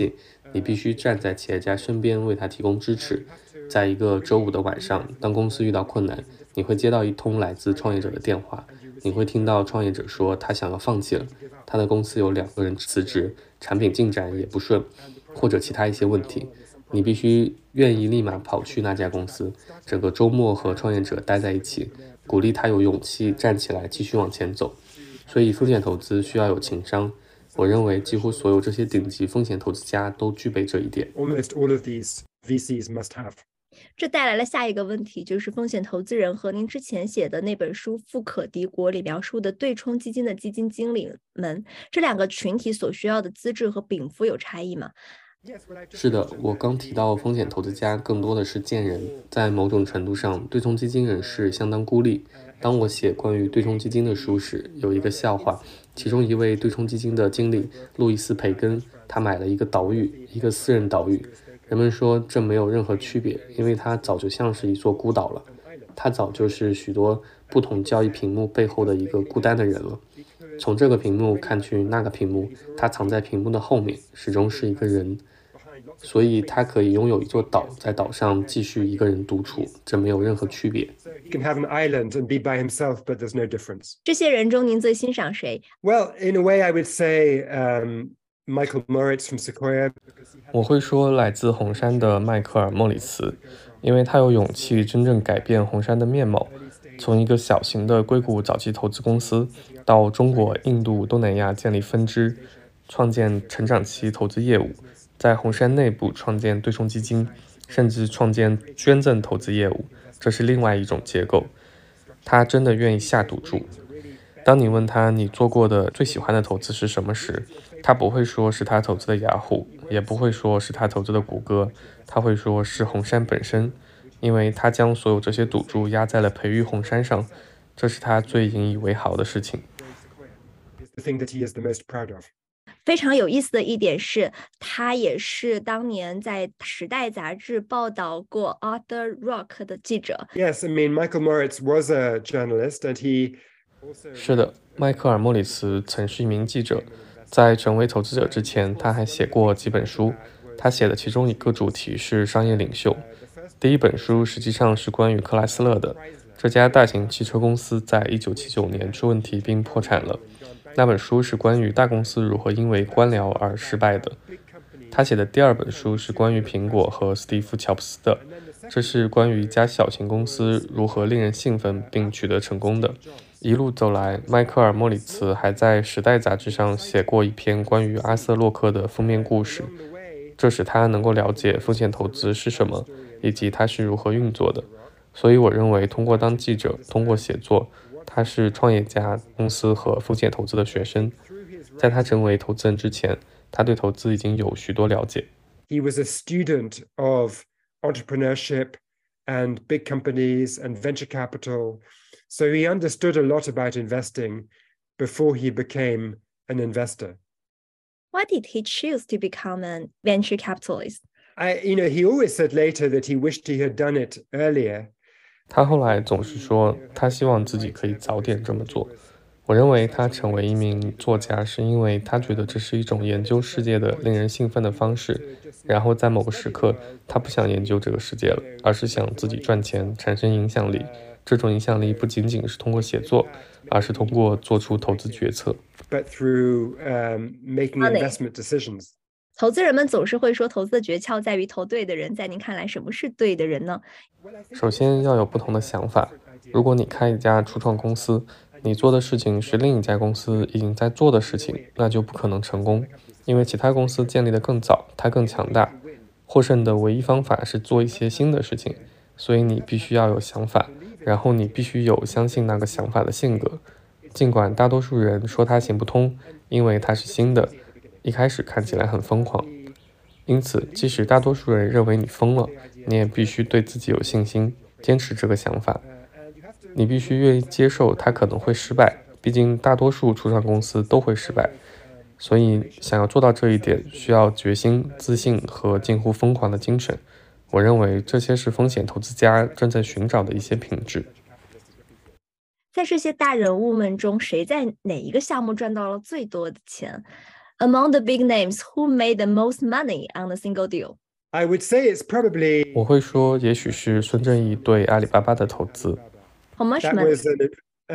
你必须站在企业家身边为他提供支持。在一个周五的晚上，当公司遇到困难，你会接到一通来自创业者的电话，你会听到创业者说他想要放弃了，他的公司有两个人辞职，产品进展也不顺，或者其他一些问题。你必须愿意立马跑去那家公司，整个周末和创业者待在一起，鼓励他有勇气站起来继续往前走。所以风险投资需要有情商，我认为几乎所有这些顶级风险投资家都具备这一点。 Almost all of these V Cs must have. 这带来了下一个问题，就是风险投资人和您之前写的那本书《富可敌国》里描述的对冲基金的基金经理们，这两个群体所需要的资质和禀赋有差异吗？ 是的，我刚提到风险投资家更多的是贱人，在某种程度上，对冲基金人士相当孤立。当我写关于对冲基金的书时，有一个笑话，其中一位对冲基金的经理路易斯·培根，他买了一个岛屿，一个私人岛屿。人们说这没有任何区别，因为它早就像是一座孤岛了，它早就是许多不同交易屏幕背后的一个孤单的人了。从这个屏幕看去那个屏幕，它藏在屏幕的后面，始终是一个人。所以他可以拥有一座岛，在岛上继续一个人独处，这没有任何区别。 He can have an island and be by himself, but there's no difference. 这些人中，您最欣赏谁？ Well, in a way, I would say um, Michael Moritz from Sequoia. 我会说来自红杉的迈克尔·莫里茨，因为他有勇气真正改变红杉的面貌，从一个小型的硅谷早期投资公司，到中国、印度、东南亚建立分支，创建成长期投资业务，在红杉内部创建对冲基金，甚至创建捐赠投资业务，这是另外一种结构。他真的愿意下赌注。当你问他你做过的最喜欢的投资是什么时，他不会说是他投资的雅虎，也不会说是他投资的谷歌，他会说是红杉本身，因为他将所有这些赌注压在了培育红杉上，这是他最引以为豪的事情。 The thing that he is the most proud of. 非常有意思的一点是，他也是当年在《时代》杂志报道过 Arthur Rock 的记者。 Yes, I mean, Michael Moritz was a journalist, and he 是的，迈克尔·莫里茨曾是一名记者，在成为投资者之前，他还写过几本书。他写的其中一个主题是商业领袖。第一本书实际上是关于克莱斯勒的，这家大型汽车公司在一九七九年出问题并破产了。那本书是关于大公司如何因为官僚而失败的。他写的第二本书是关于苹果和史蒂夫·乔布斯的，这是关于一家小型公司如何令人兴奋并取得成功的。一路走来，迈克尔·莫里茨还在《时代》杂志上写过一篇关于阿瑟·洛克的封面故事，这使他能够了解风险投资是什么，以及它是如何运作的。所以我认为，通过当记者，通过写作，他是创业家、公司和风险投资的学生。在他成为投资人之前，他对投资已经有许多了解。 he was a student of entrepreneurship and big companies and venture capital. So he understood a lot about investing before he became an investor. Why did he choose to become a venture capitalist? I, you know, he always said later that he wished he had done it earlier. 他后来总是说，他希望自己可以早点这么做。我认为他成为一名作家，是因为他觉得这是一种研究世界的令人兴奋的方式。然后在某个时刻，他不想研究这个世界了，而是想自己赚钱，产生影响力。这种影响力不仅仅是通过写作，而是通过做出投资决策。 But through um, making investment decisions. 投资人们总是会说，投资的诀窍在于投对的人。在您看来，什么是对的人呢？ 首先要有不同的想法。如果你开一家初创公司，你做的事情是另一家公司已经在做的事情，那就不可能成功，因为其他公司建立的更早，它更强大。获胜的唯一方法是做一些新的事情，所以你必须要有想法，然后你必须有相信那个想法的性格。尽管大多数人说它行不通，因为它是新的，一开始看起来很疯狂。因此，即使大多数人认为你疯了，你也必须对自己有信心，坚持这个想法。你必须愿意接受它可能会失败，毕竟大多数初创公司都会失败。所以，想要做到这一点，需要决心、自信和近乎疯狂的精神。我认为这些是风险投资家正在寻找的一些品质。 在这些大人物们中，谁在哪一个项目赚到了最多的钱？ Among the big names, who made the most money on a single deal? I would say it's probably 我会说，也许是孙正义对阿里巴巴的投资。 How much that money? was an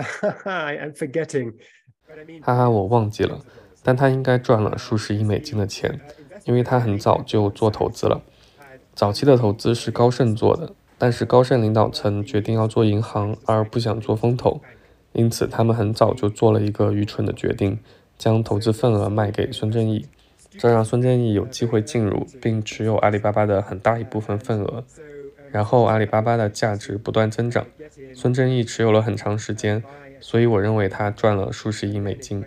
I'm forgetting. 哈哈，我忘记了，但他应该赚了数十亿美金的钱，因为他很早就做投资了。早期的投资是高盛做的，但是高盛领导层决定要做银行，而不想做风投，因此他们很早就做了一个愚蠢的决定，将投资份额卖给孙正义，这让孙正义有机会进入并持有阿里巴巴的很大一部分份额。然后阿里巴巴的价值不断增长，孙正义持有了很长时间，所以我认为他赚了数十亿美金。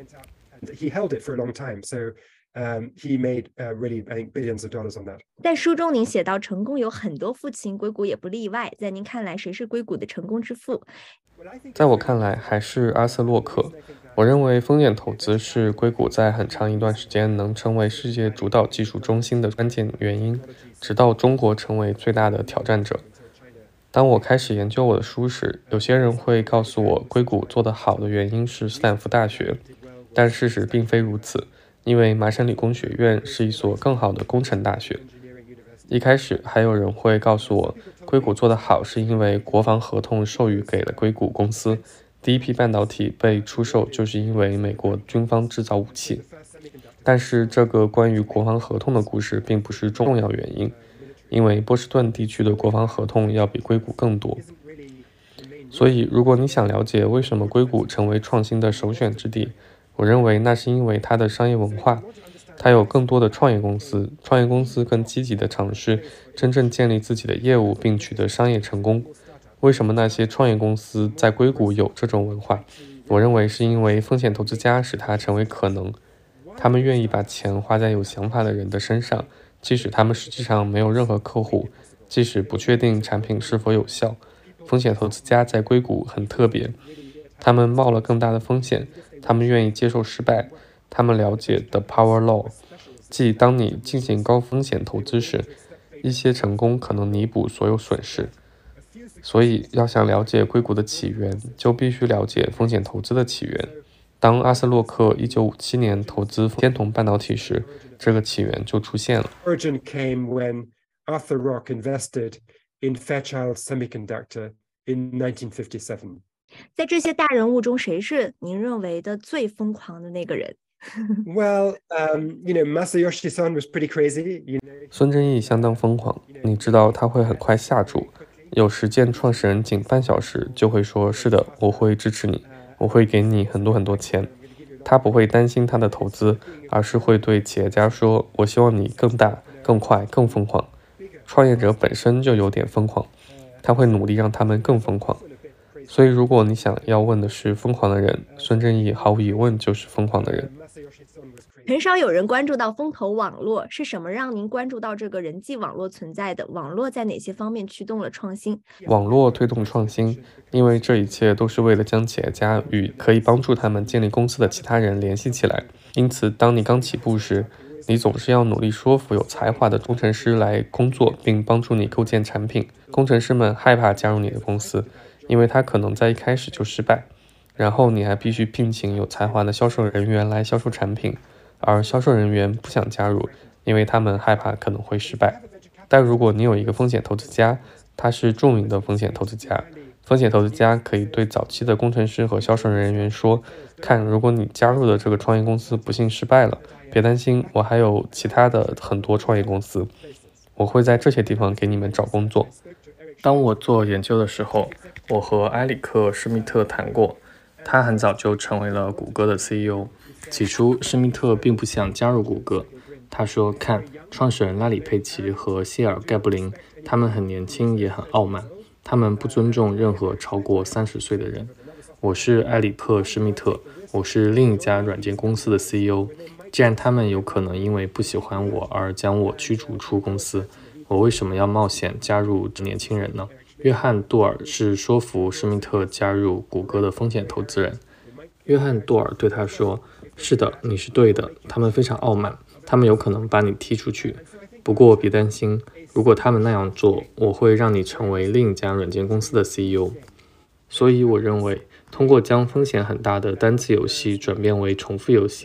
He held it for a long time, so um, he made uh, really, I think, billions of dollars on that. 在书中您写到，成功有很多父亲，硅谷也不例外。在您看来，谁是硅谷的成功之父？ 在我看来，还是阿瑟洛克。我认为风险投资是硅谷在很长一段时间能成为世界主导技术中心的关键原因，直到中国成为最大的挑战者。当我开始研究我的书时，有些人会告诉我，硅谷做得好的原因是斯坦福大学，但事实并非如此，因为麻省理工学院是一所更好的工程大学。一开始还有人会告诉我，硅谷做得好是因为国防合同授予给了硅谷公司，第一批半导体被出售就是因为美国军方制造武器。但是这个关于国防合同的故事并不是重要原因，因为波士顿地区的国防合同要比硅谷更多。所以如果你想了解为什么硅谷成为创新的首选之地，我认为那是因为它的商业文化，它有更多的创业公司，创业公司更积极地尝试真正建立自己的业务并取得商业成功。为什么那些创业公司在硅谷有这种文化？我认为是因为风险投资家使它成为可能，他们愿意把钱花在有想法的人的身上，即使他们实际上没有任何客户，即使不确定产品是否有效。风险投资家在硅谷很特别，他们冒了更大的风险，他们愿意接受失败，他们了解 The Power Law， 即当你进行高风险投资时，一些成功可能弥补所有损失。所以要想了解硅谷的起源，就必须了解风险投资的起源。当阿瑟洛克一九五七年投资天童半导体时，这个起源就出现了。 Origin came when Arthur Rock invested in Fairchild Semiconductor in nineteen fifty-seven. 在这些大人物中，谁是您认为的最疯狂的那个人？ Well, um, you know, Masayoshi Son was pretty crazy. You know. 孙正义相当疯狂，你知道他会很快下注。有时见创始人仅半小时就会说，是的，我会支持你，我会给你很多很多钱。他不会担心他的投资，而是会对企业家说，我希望你更大、更快、更疯狂。创业者本身就有点疯狂，他会努力让他们更疯狂。所以如果你想要问的是疯狂的人，孙正义毫无疑问就是疯狂的人。 很少有人关注到风投网络，是什么让您关注到这个人际网络存在的？网络在哪些方面驱动了创新？ 网络推动创新，因为这一切都是为了将企业家与可以帮助他们建立公司的其他人联系起来。因此，当你刚起步时，你总是要努力说服有才华的工程师来工作，并帮助你构建产品。工程师们害怕加入你的公司，因为他可能在一开始就失败。然后你还必须聘请有才华的销售人员来销售产品。而销售人员不想加入，因为他们害怕可能会失败。但如果你有一个风险投资家，他是著名的风险投资家，风险投资家可以对早期的工程师和销售人员说，看，如果你加入的这个创业公司不幸失败了，别担心，我还有其他的很多创业公司，我会在这些地方给你们找工作。当我做研究的时候，我和埃里克·施密特谈过，他很早就成为了谷歌的 C E O。起初，施密特并不想加入谷歌。他说：“看，创始人拉里·佩奇和谢尔盖布林，他们很年轻，也很傲慢，他们不尊重任何超过三十岁的人。我是埃里克·施密特，我是另一家软件公司的 C E O。既然他们有可能因为不喜欢我而将我驱逐出公司，我为什么要冒险加入年轻人呢？”约翰·杜尔是说服施密特加入谷歌的风险投资人。约翰·杜尔对他说：“是的，你是对的，他们非常傲慢，他们有可能把你踢出去。不过别担心，如果他们那样做，我会让你成为另一家软件公司的 C E O。所以我认为，通过将风险很大的单次游戏转变为重复游戏，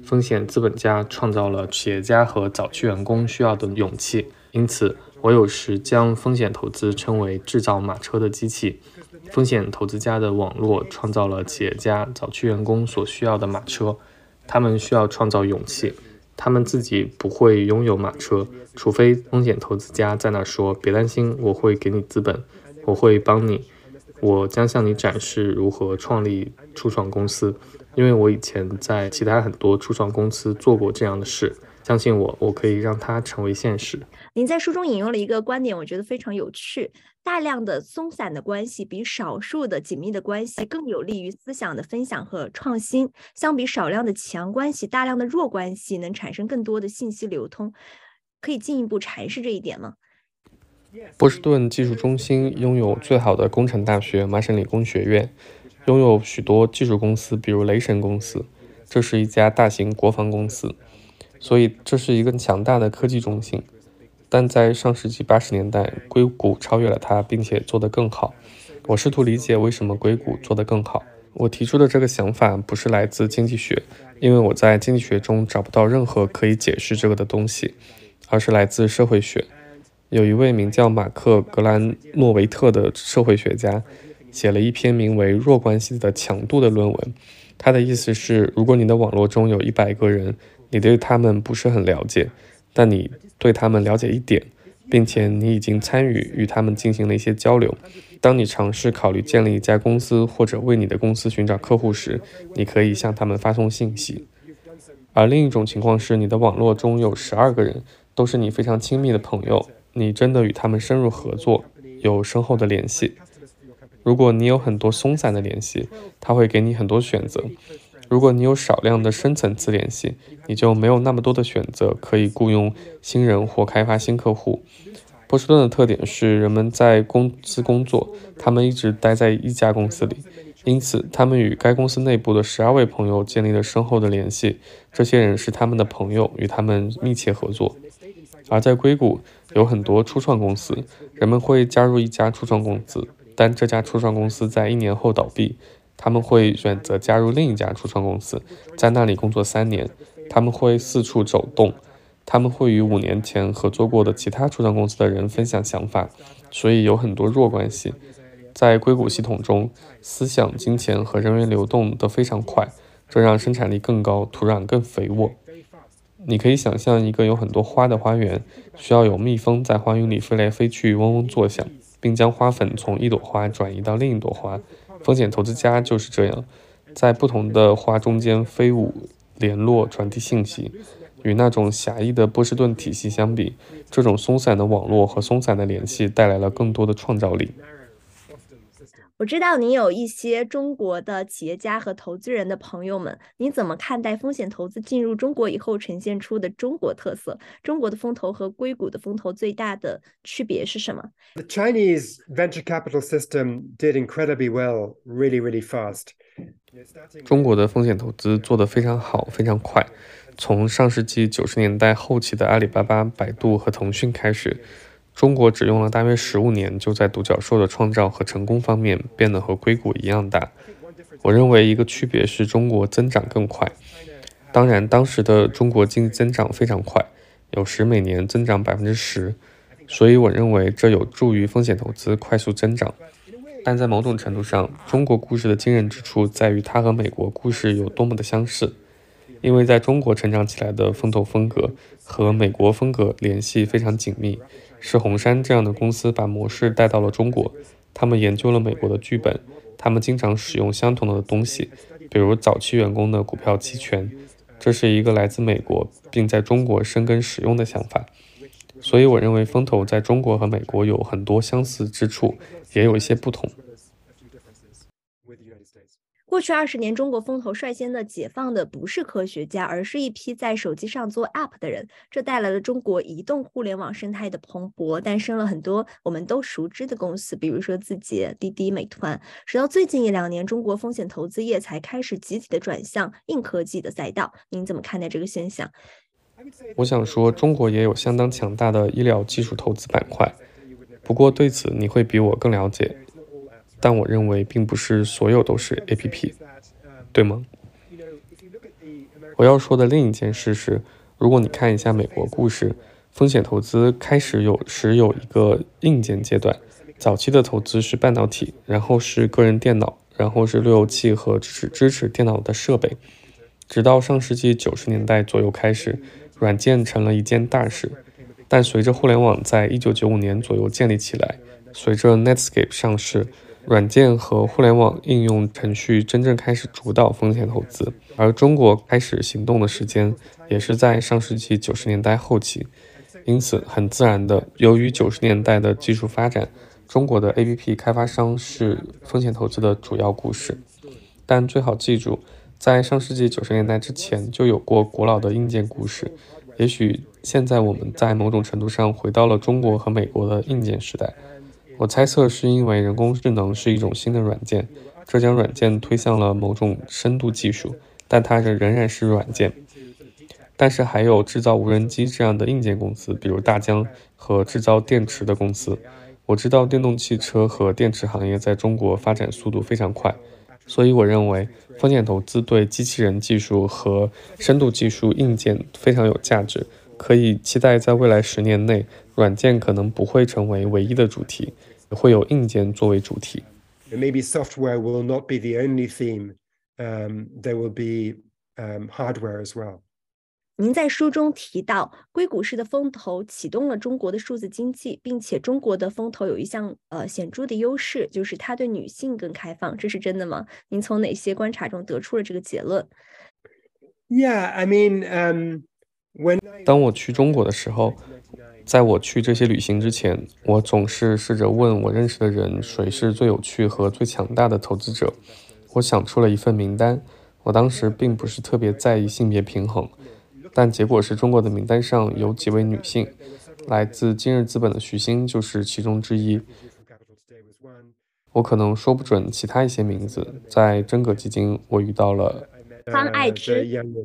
风险资本家创造了企业家和早期员工需要的勇气，因此我有时将风险投资称为制造马车的机器。风险投资家的网络创造了企业家、早期员工所需要的马车，他们需要创造勇气，他们自己不会拥有马车，除非风险投资家在那说别担心，我会给你资本，我会帮你，我将向你展示如何创立初创公司，因为我以前在其他很多初创公司做过这样的事，相信我，我可以让它成为现实。 您在书中引用了一个观点，我觉得非常有趣，大量的松散的关系比少数的紧密的关系更有利于思想的分享和创新，相比少量的强关系，大量的弱关系能产生更多的信息流通，可以进一步阐释这一点吗？ 波士顿技术中心拥有最好的工程大学麻省理工学院，拥有许多技术公司，比如雷神公司，这是一家大型国防公司，所以这是一个强大的科技中心。但在上世纪八十年代，硅谷超越了它，并且做得更好。我试图理解为什么硅谷做得更好。我提出的这个想法不是来自经济学，因为我在经济学中找不到任何可以解释这个的东西，而是来自社会学。有一位名叫马克·格兰诺维特的社会学家写了一篇名为《弱关系的强度》的论文。他的意思是，如果你的网络中有一百个人，你对他们不是很了解，但你对他们了解一点，并且你已经参与与他们进行了一些交流。当你尝试考虑建立一家公司或者为你的公司寻找客户时，你可以向他们发送信息。而另一种情况是，你的网络中有十二个人，都是你非常亲密的朋友，你真的与他们深入合作，有深厚的联系。如果你有很多松散的联系，它会给你很多选择。如果你有少量的深层次联系，你就没有那么多的选择可以雇佣新人或开发新客户。波士顿的特点是人们在公司工作，他们一直待在一家公司里，因此他们与该公司内部的十二位朋友建立了深厚的联系，这些人是他们的朋友，与他们密切合作。而在硅谷有很多初创公司，人们会加入一家初创公司，但这家初创公司在一年后倒闭，他们会选择加入另一家初创公司，在那里工作三年。他们会四处走动，他们会与五年前合作过的其他初创公司的人分享想法，所以有很多弱关系。在硅谷系统中，思想、金钱和人员流动得非常快，这让生产力更高，土壤更肥沃。你可以想象一个有很多花的花园，需要有蜜蜂在花园里飞来飞去，嗡嗡作响，并将花粉从一朵花转移到另一朵花。风险投资家就是这样，在不同的花中间飞舞、联络、传递信息。与那种狭义的波士顿体系相比，这种松散的网络和松散的联系带来了更多的创造力。 我知道你有一些中国的企业家和投资人的朋友们，你怎么看待风险投资进入中国以后呈现出的中国特色？中国的风投和硅谷的风投最大的区别是什么？ The Chinese venture capital system did incredibly well, really, really fast. 中国的风险投资做得非常好，非常快。从上世纪九十年代后期的阿里巴巴、百度和腾讯开始，中国只用了大约十五年，就在独角兽的创造和成功方面变得和硅谷一样大。我认为一个区别是中国增长更快。当然，当时的中国经济增长非常快，有时每年增长百分之十，所以我认为这有助于风险投资快速增长。但在某种程度上，中国故事的惊人之处在于它和美国故事有多么的相似。因为在中国成长起来的风投风格和美国风格联系非常紧密，是红杉这样的公司把模式带到了中国。他们研究了美国的剧本，他们经常使用相同的东西，比如早期员工的股票期权。这是一个来自美国并在中国生根使用的想法。所以我认为风投在中国和美国有很多相似之处，也有一些不同。 过去二十年，中国风投率先的解放的不是科学家，而是一批在手机上做 App 的人。这带来了中国移动互联网生态的蓬勃，诞生了很多我们都熟知的公司，比如说字节、滴滴、美团。直到最近一两年，中国风险投资业才开始集体的转向硬科技的赛道。您怎么看待这个现象？ 我想说，中国也有相当强大的医疗技术投资板块，不过对此你会比我更了解。但我认为并不是所有都是 A P P， 对吗？ 我要说的另一件事是，如果你看一下美国故事，风险投资开始有时有一个硬件阶段，早期的投资是半导体，然后是个人电脑，然后是路由器和支持支持电脑的设备，直到上世纪九十年代左右开始，软件成了一件大事。但随着互联网在一九九五年左右建立起来，随着 Netscape 上市，软件和互联网应用程序真正开始主导风险投资，而中国开始行动的时间也是在上世纪九十年代后期。因此，很自然的，由于九十年代的技术发展，中国的 A P P 开发商是风险投资的主要故事。但最好记住，在上世纪九十年代之前就有过古老的硬件故事。也许现在我们在某种程度上回到了中国和美国的硬件时代。我猜测是因为人工智能是一种新的软件，这将软件推向了某种深度技术，但它仍然是软件。但是还有制造无人机这样的硬件公司，比如大疆和制造电池的公司。我知道电动汽车和电池行业在中国发展速度非常快，所以我认为风险投资对机器人技术和深度技术硬件非常有价值，可以期待在未来十年内，软件可能不会成为唯一的主题，会有硬件作为主题。 Maybe software will not be the only theme. Um, there will be um, hardware as well. 您在书中提到，硅谷式的风投启动了中国的数字经济，并且中国的风投有一项呃显著的优势，就是它对女性更开放，这是真的吗？您从哪些观察中得出了这个结论？ Yeah, I mean, um, when 当我去中国的时候，在我去这些旅行之前，我总是试着问我认识的人谁是最有趣和最强大的投资者。我想出了一份名单，我当时并不是特别在意性别平衡，但结果是中国的名单上有几位女性，来自今日资本的徐星就是其中之一。我可能说不准其他一些名字，在真格基金我遇到了方爱之。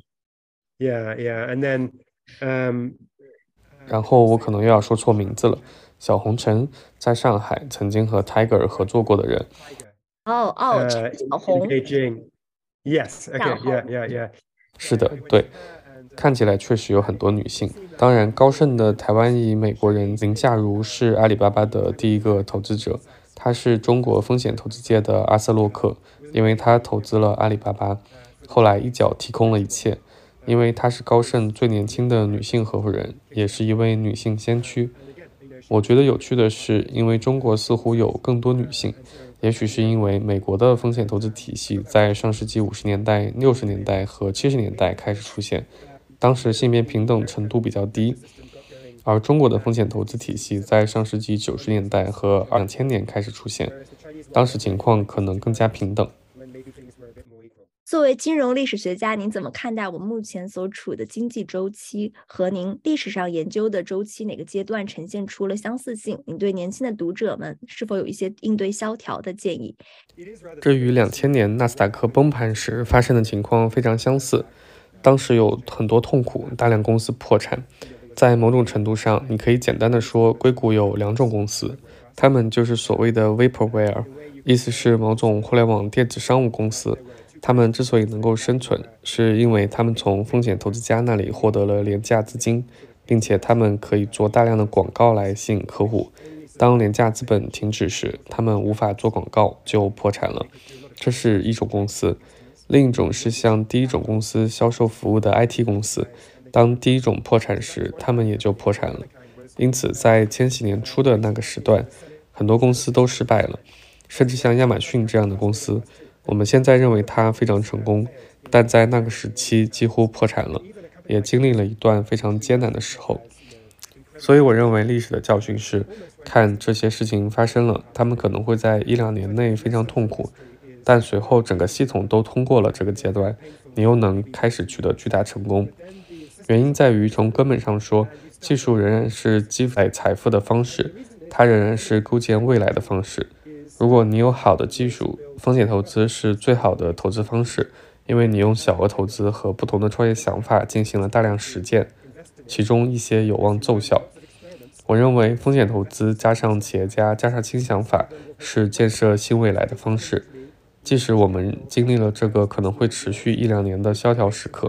Yeah, yeah, and then um, 然后我可能又要说错名字了，小红尘在上海曾经和 Tiger 合作过的人。 哦哦， uh, 陈小红。 in Beijing. Yes, okay, yeah, yeah, yeah. 是的，对，看起来确实有很多女性。当然，高盛的台湾裔美国人林夏如是阿里巴巴的第一个投资者，他是中国风险投资界的阿瑟洛克，因为他投资了阿里巴巴，后来一脚踢空了一切。因为她是高盛最年轻的女性合伙人，也是一位女性先驱。我觉得有趣的是，因为中国似乎有更多女性，也许是因为美国的风险投资体系在上世纪五十年代、六十年代和七十年代开始出现，当时性别平等程度比较低，而中国的风险投资体系在上世纪九十年代和两千年开始出现，当时情况可能更加平等。 作为金融历史学家，您怎么看待我们目前所处的经济周期和您历史上研究的周期哪个阶段呈现出了相似性？您对年轻的读者们是否有一些应对萧条的建议？ 这与两千年纳斯达克崩盘时发生的情况非常相似，当时有很多痛苦，大量公司破产。在某种程度上，你可以简单的说，硅谷有两种公司，它们就是所谓的 vaporware， 意思是某种互联网电子商务公司。他们之所以能够生存，是因为他们从风险投资家那里获得了廉价资金，并且他们可以做大量的广告来吸引客户。当廉价资本停止时，他们无法做广告，就破产了。这是一种公司。另一种是向第一种公司销售服务的 I T 公司，当第一种破产时，他们也就破产了。因此，在千禧年初的那个时段，很多公司都失败了，甚至像亚马逊这样的公司。我们现在认为它非常成功，但在那个时期几乎破产了，也经历了一段非常艰难的时候。所以我认为历史的教训是，看这些事情发生了，他们可能会在一两年内非常痛苦，但随后整个系统都通过了这个阶段，你又能开始取得巨大成功。原因在于，从根本上说，技术仍然是积累财富的方式，它仍然是构建未来的方式。如果你有好的技术，风险投资是最好的投资方式，因为你用小额投资和不同的创业想法进行了大量实践，其中一些有望奏效。我认为风险投资加上企业家加上新想法是建设新未来的方式。即使我们经历了这个可能会持续一两年的萧条时刻，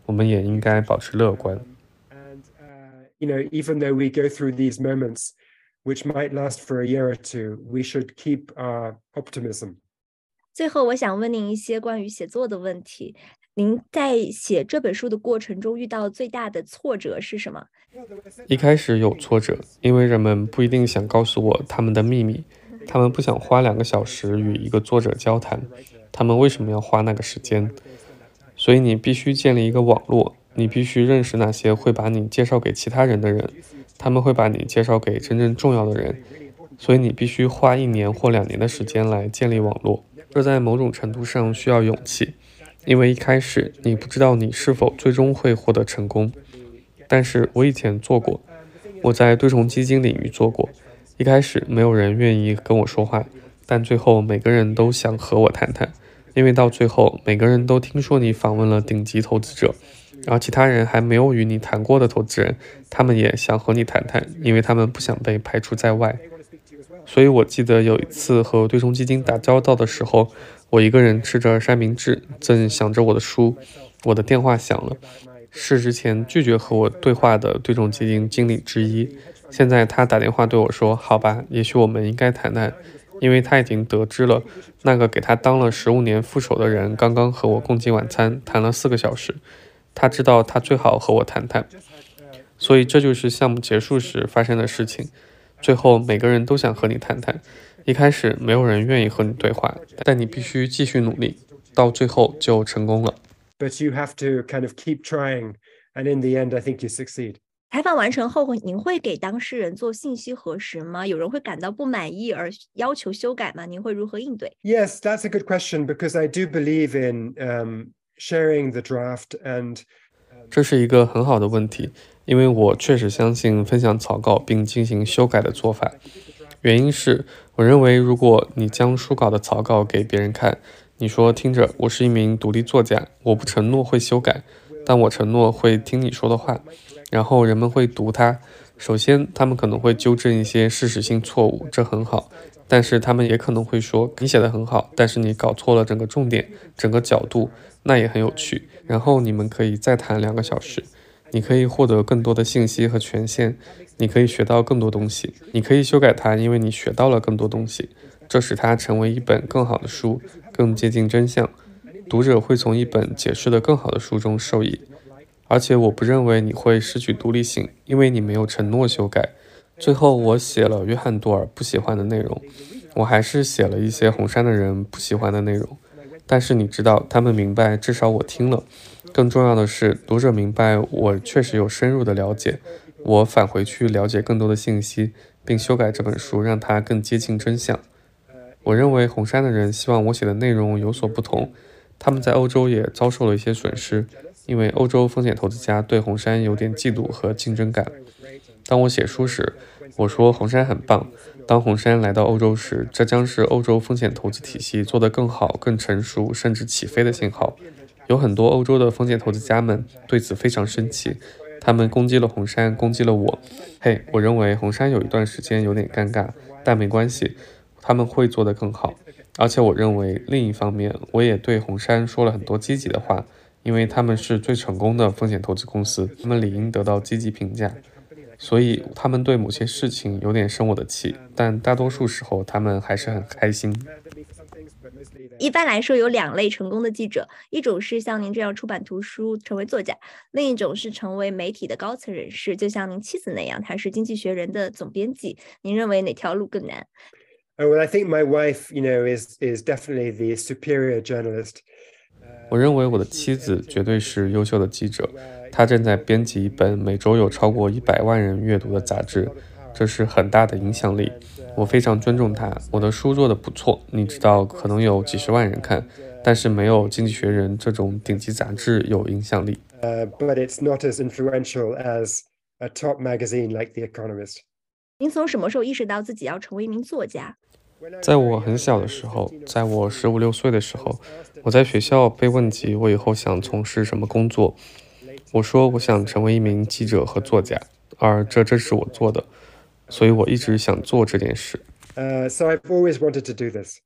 我们也应该保持乐观。 And uh, you know, even though we go through these moments, which might last for a year or two, we should keep our optimism. 最后，我想问您一些关于写作的问题。您在写这本书的过程中遇到最大的挫折是什么？ 一开始有挫折，因为人们不一定想告诉我他们的秘密，他们不想花两个小时与一个作者交谈，他们为什么要花那个时间？所以你必须建立一个网络，你必须认识那些会把你介绍给其他人的人，他们会把你介绍给真正重要的人，所以你必须花一年或两年的时间来建立网络。这在某种程度上需要勇气，因为一开始你不知道你是否最终会获得成功。但是我以前做过，我在对冲基金领域做过，一开始没有人愿意跟我说话，但最后每个人都想和我谈谈，因为到最后每个人都听说你访问了顶级投资者，然后其他人还没有与你谈过的投资人，他们也想和你谈谈，因为他们不想被排除在外。所以我记得有一次和对冲基金打交道的时候，我一个人吃着三明治，正想着我的书，我的电话响了，是之前拒绝和我对话的对冲基金经理之一，现在他打电话对我说，好吧，也许我们应该谈谈，因为他已经得知了那个给他当了十五年副手的人刚刚和我共进晚餐，谈了四个小时，他知道他最好和我谈谈。所以这就是项目结束时发生的事情，最后每个人都想和你谈谈，一开始没有人愿意和你对话，但你必须继续努力，到最后就成功了。 But you have to kind of keep trying, and in the end, I think you succeed. 采访完成后，您会给当事人做信息核实吗？有人会感到不满意而要求修改吗？您会如何应对？ Yes, that's a good question, because I do believe in um, sharing the draft and 这是一个很好的问题，因为我确实相信分享草稿并进行修改的做法。原因是，我认为如果你将书稿的草稿给别人看，你说听着，我是一名独立作家，我不承诺会修改，但我承诺会听你说的话，然后人们会读它。首先，他们可能会纠正一些事实性错误，这很好，但是他们也可能会说，你写得很好，但是你搞错了整个重点，整个角度，那也很有趣。然后你们可以再谈两个小时，你可以获得更多的信息和权限，你可以学到更多东西，你可以修改它，因为你学到了更多东西，这使它成为一本更好的书，更接近真相。读者会从一本解释得更好的书中受益。而且我不认为你会失去独立性，因为你没有承诺修改。最后我写了约翰多尔不喜欢的内容，我还是写了一些红杉的人不喜欢的内容，但是你知道，他们明白，至少我听了。更重要的是，读者明白我确实有深入的了解，我返回去了解更多的信息，并修改这本书，让它更接近真相。我认为红杉的人希望我写的内容有所不同，他们在欧洲也遭受了一些损失，因为欧洲风险投资家对红杉有点嫉妒和竞争感。当我写书时，我说红杉很棒，当红杉来到欧洲时，这将是欧洲风险投资体系做得更好、更成熟，甚至起飞的信号。有很多欧洲的风险投资家们对此非常生气，他们攻击了红杉，攻击了我。嘿，我认为红杉有一段时间有点尴尬，但没关系，他们会做得更好。而且我认为另一方面，我也对红杉说了很多积极的话，因为他们是最成功的风险投资公司，他们理应得到积极评价。所以他们对某些事情有点生我的气，但大多数时候他们还是很开心。 一般来说，有两类成功的记者，一种是像您这样出版图书成为作家，另一种是成为媒体的高层人士，就像您妻子那样，她是经济学人的总编辑。您认为哪条路更难？ Oh, well, I think my wife, you know, is is definitely the superior journalist. 我认为我的妻子绝对是优秀的记者，她正在编辑一本每周有超过一百万人阅读的杂志，这是很大的影响力。我非常尊重她，我的书做得不错，你知道，可能有几十万人看，但是没有《经济学人》这种顶级杂志有影响力。 Uh, but it's not as influential as a top magazine like The Economist. 您从什么时候意识到自己要成为一名作家？ 在我很小的时候，在我十五六岁的时候，我在学校被问及我以后想从事什么工作，我说我想成为一名记者和作家，而这正是我做的，所以我一直想做这件事。 Uh, so I've always wanted to do this.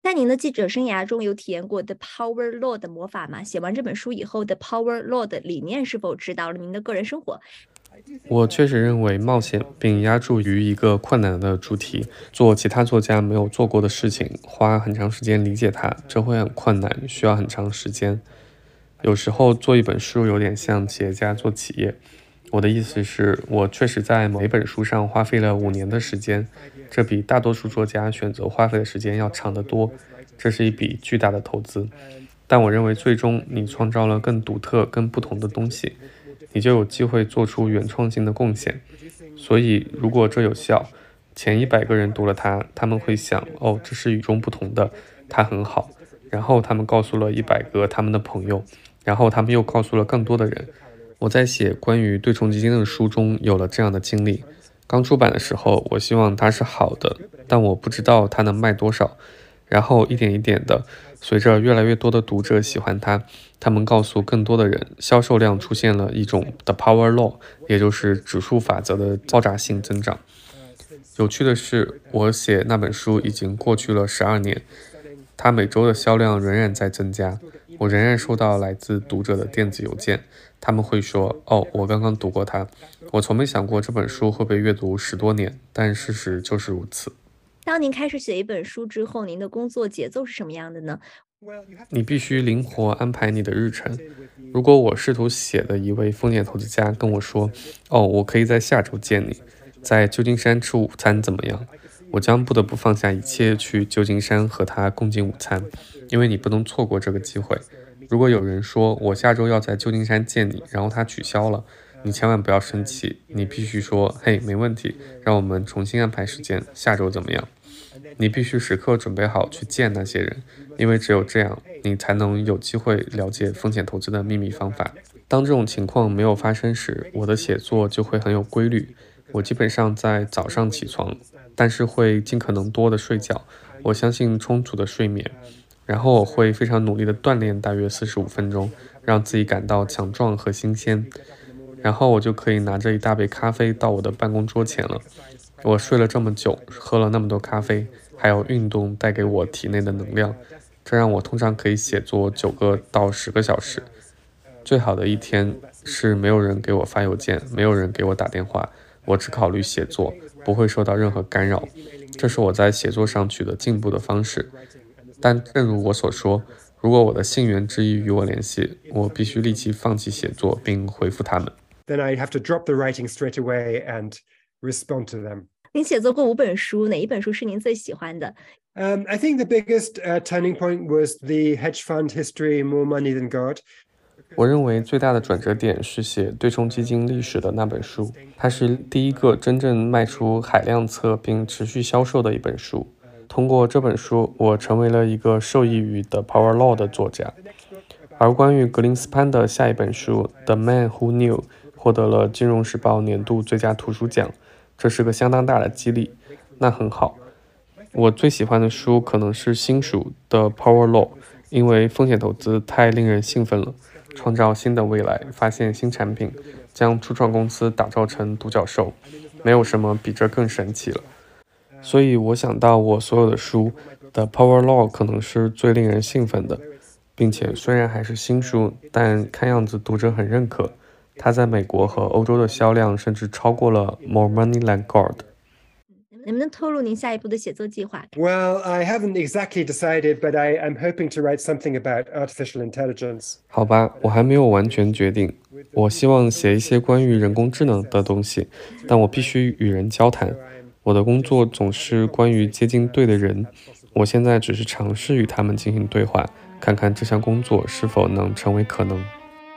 在您的记者生涯中有体验过 The Power Law 的魔法吗？写完这本书以后 The Power Law 的理念是否指导了您的个人生活？ 我确实认为冒险并押注于一个困难的主题，做其他作家没有做过的事情，花很长时间理解它，这会很困难，需要很长时间。有时候做一本书有点像企业家做企业，我的意思是，我确实在每本书上花费了五年的时间，这比大多数作家选择花费的时间要长得多，这是一笔巨大的投资。但我认为最终你创造了更独特、更不同的东西，你就有机会做出原创性的贡献。所以如果这有效，前一百个人读了它，他们会想，哦，这是与众不同的，它很好。然后他们告诉了一百个他们的朋友，然后他们又告诉了更多的人。我在写关于对冲基金的书中有了这样的经历。刚出版的时候，我希望它是好的，但我不知道它能卖多少。然后一点一点的，随着越来越多的读者喜欢它，他们告诉更多的人，销售量出现了一种 The Power Law， 也就是指数法则的爆炸性增长。有趣的是，我写那本书已经过去了十二年，它每周的销量仍然在增加。我仍然收到来自读者的电子邮件，他们会说，哦，我刚刚读过它。我从没想过这本书会被阅读十多年，但事实就是如此。 当您开始写一本书之后，您的工作节奏是什么样的呢？ 你必须灵活安排你的日程。如果我试图写的一位风险投资家跟我说，哦，我可以在下周见你，在旧金山吃午餐怎么样？我将不得不放下一切去旧金山和他共进午餐，因为你不能错过这个机会。如果有人说我下周要在旧金山见你，然后他取消了，你千万不要生气，你必须说，嘿，没问题，让我们重新安排时间，下周怎么样？你必须时刻准备好去见那些人，因为只有这样，你才能有机会了解风险投资的秘密方法。当这种情况没有发生时，我的写作就会很有规律。我基本上在早上起床，但是会尽可能多的睡觉。我相信充足的睡眠，然后我会非常努力的锻炼大约四十五分钟，让自己感到强壮和新鲜。然后我就可以拿着一大杯咖啡到我的办公桌前了。我睡了这么久，喝了那么多咖啡，还有运动带给我体内的能量，这让我通常可以写作九个到十个小时。最好的一天是没有人给我发邮件，没有人给我打电话，我只考虑写作，不会受到任何干扰。这是我在写作上取得进步的方式。但正如我所说，如果我的信源之一与我联系，我必须立即放弃写作并回复他们。 Then I have to drop the writing straight away and respond to them. 您写作过五本书，哪一本书是您最喜欢的？ Um, I think the biggest uh, turning point was the hedge fund history, More Money Than God. 我认为最大的转折点是写对冲基金历史的那本书，它是第一个真正卖出海量册并持续销售的一本书。通过这本书，我成为了一个受益于 The Power Law 的作家。而关于格林斯潘的下一本书 The Man Who Knew 获得了金融时报年度最佳图书奖，这是个相当大的激励。那很好。我最喜欢的书可能是新书 The Power Law， 因为风险投资太令人兴奋了，创造新的未来，发现新产品，将初创公司打造成独角兽，没有什么比这更神奇了。所以我想到我所有的书 The Power Law 可能是最令人兴奋的，并且虽然还是新书，但看样子读者很认可，它在美国和欧洲的销量甚至超过了 More Money Than God。 能不能透露您下一步的写作计划？ Well, I haven't exactly decided, but I am hoping to write something about artificial intelligence. 好吧，我还没有完全决定。我希望写一些关于人工智能的东西，但我必须与人交谈。我的工作总是关于接近对的人。我现在只是尝试与他们进行对话，看看这项工作是否能成为可能。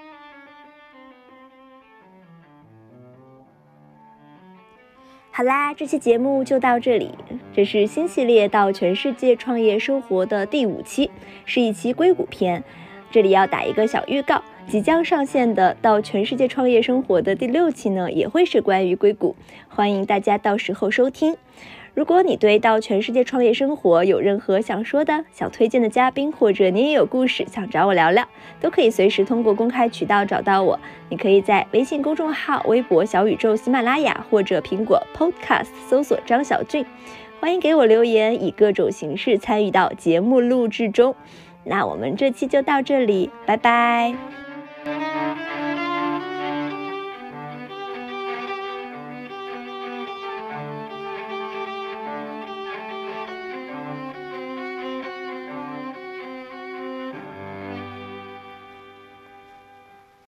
好啦，这期节目就到这里。这是新系列到全世界创业生活的第五期，是一期硅谷篇。这里要打一个小预告，即将上线的到全世界创业生活的第六期呢，也会是关于硅谷，欢迎大家到时候收听。如果你对到全世界创业生活有任何想说的、想推荐的嘉宾，或者你也有故事想找我聊聊，都可以随时通过公开渠道找到我。你可以在微信公众号、微博、小宇宙、喜马拉雅或者苹果 Podcast 搜索张小俊。 欢迎给我留言，以各种形式参与到节目录制中。那我们这期就到这里，拜拜。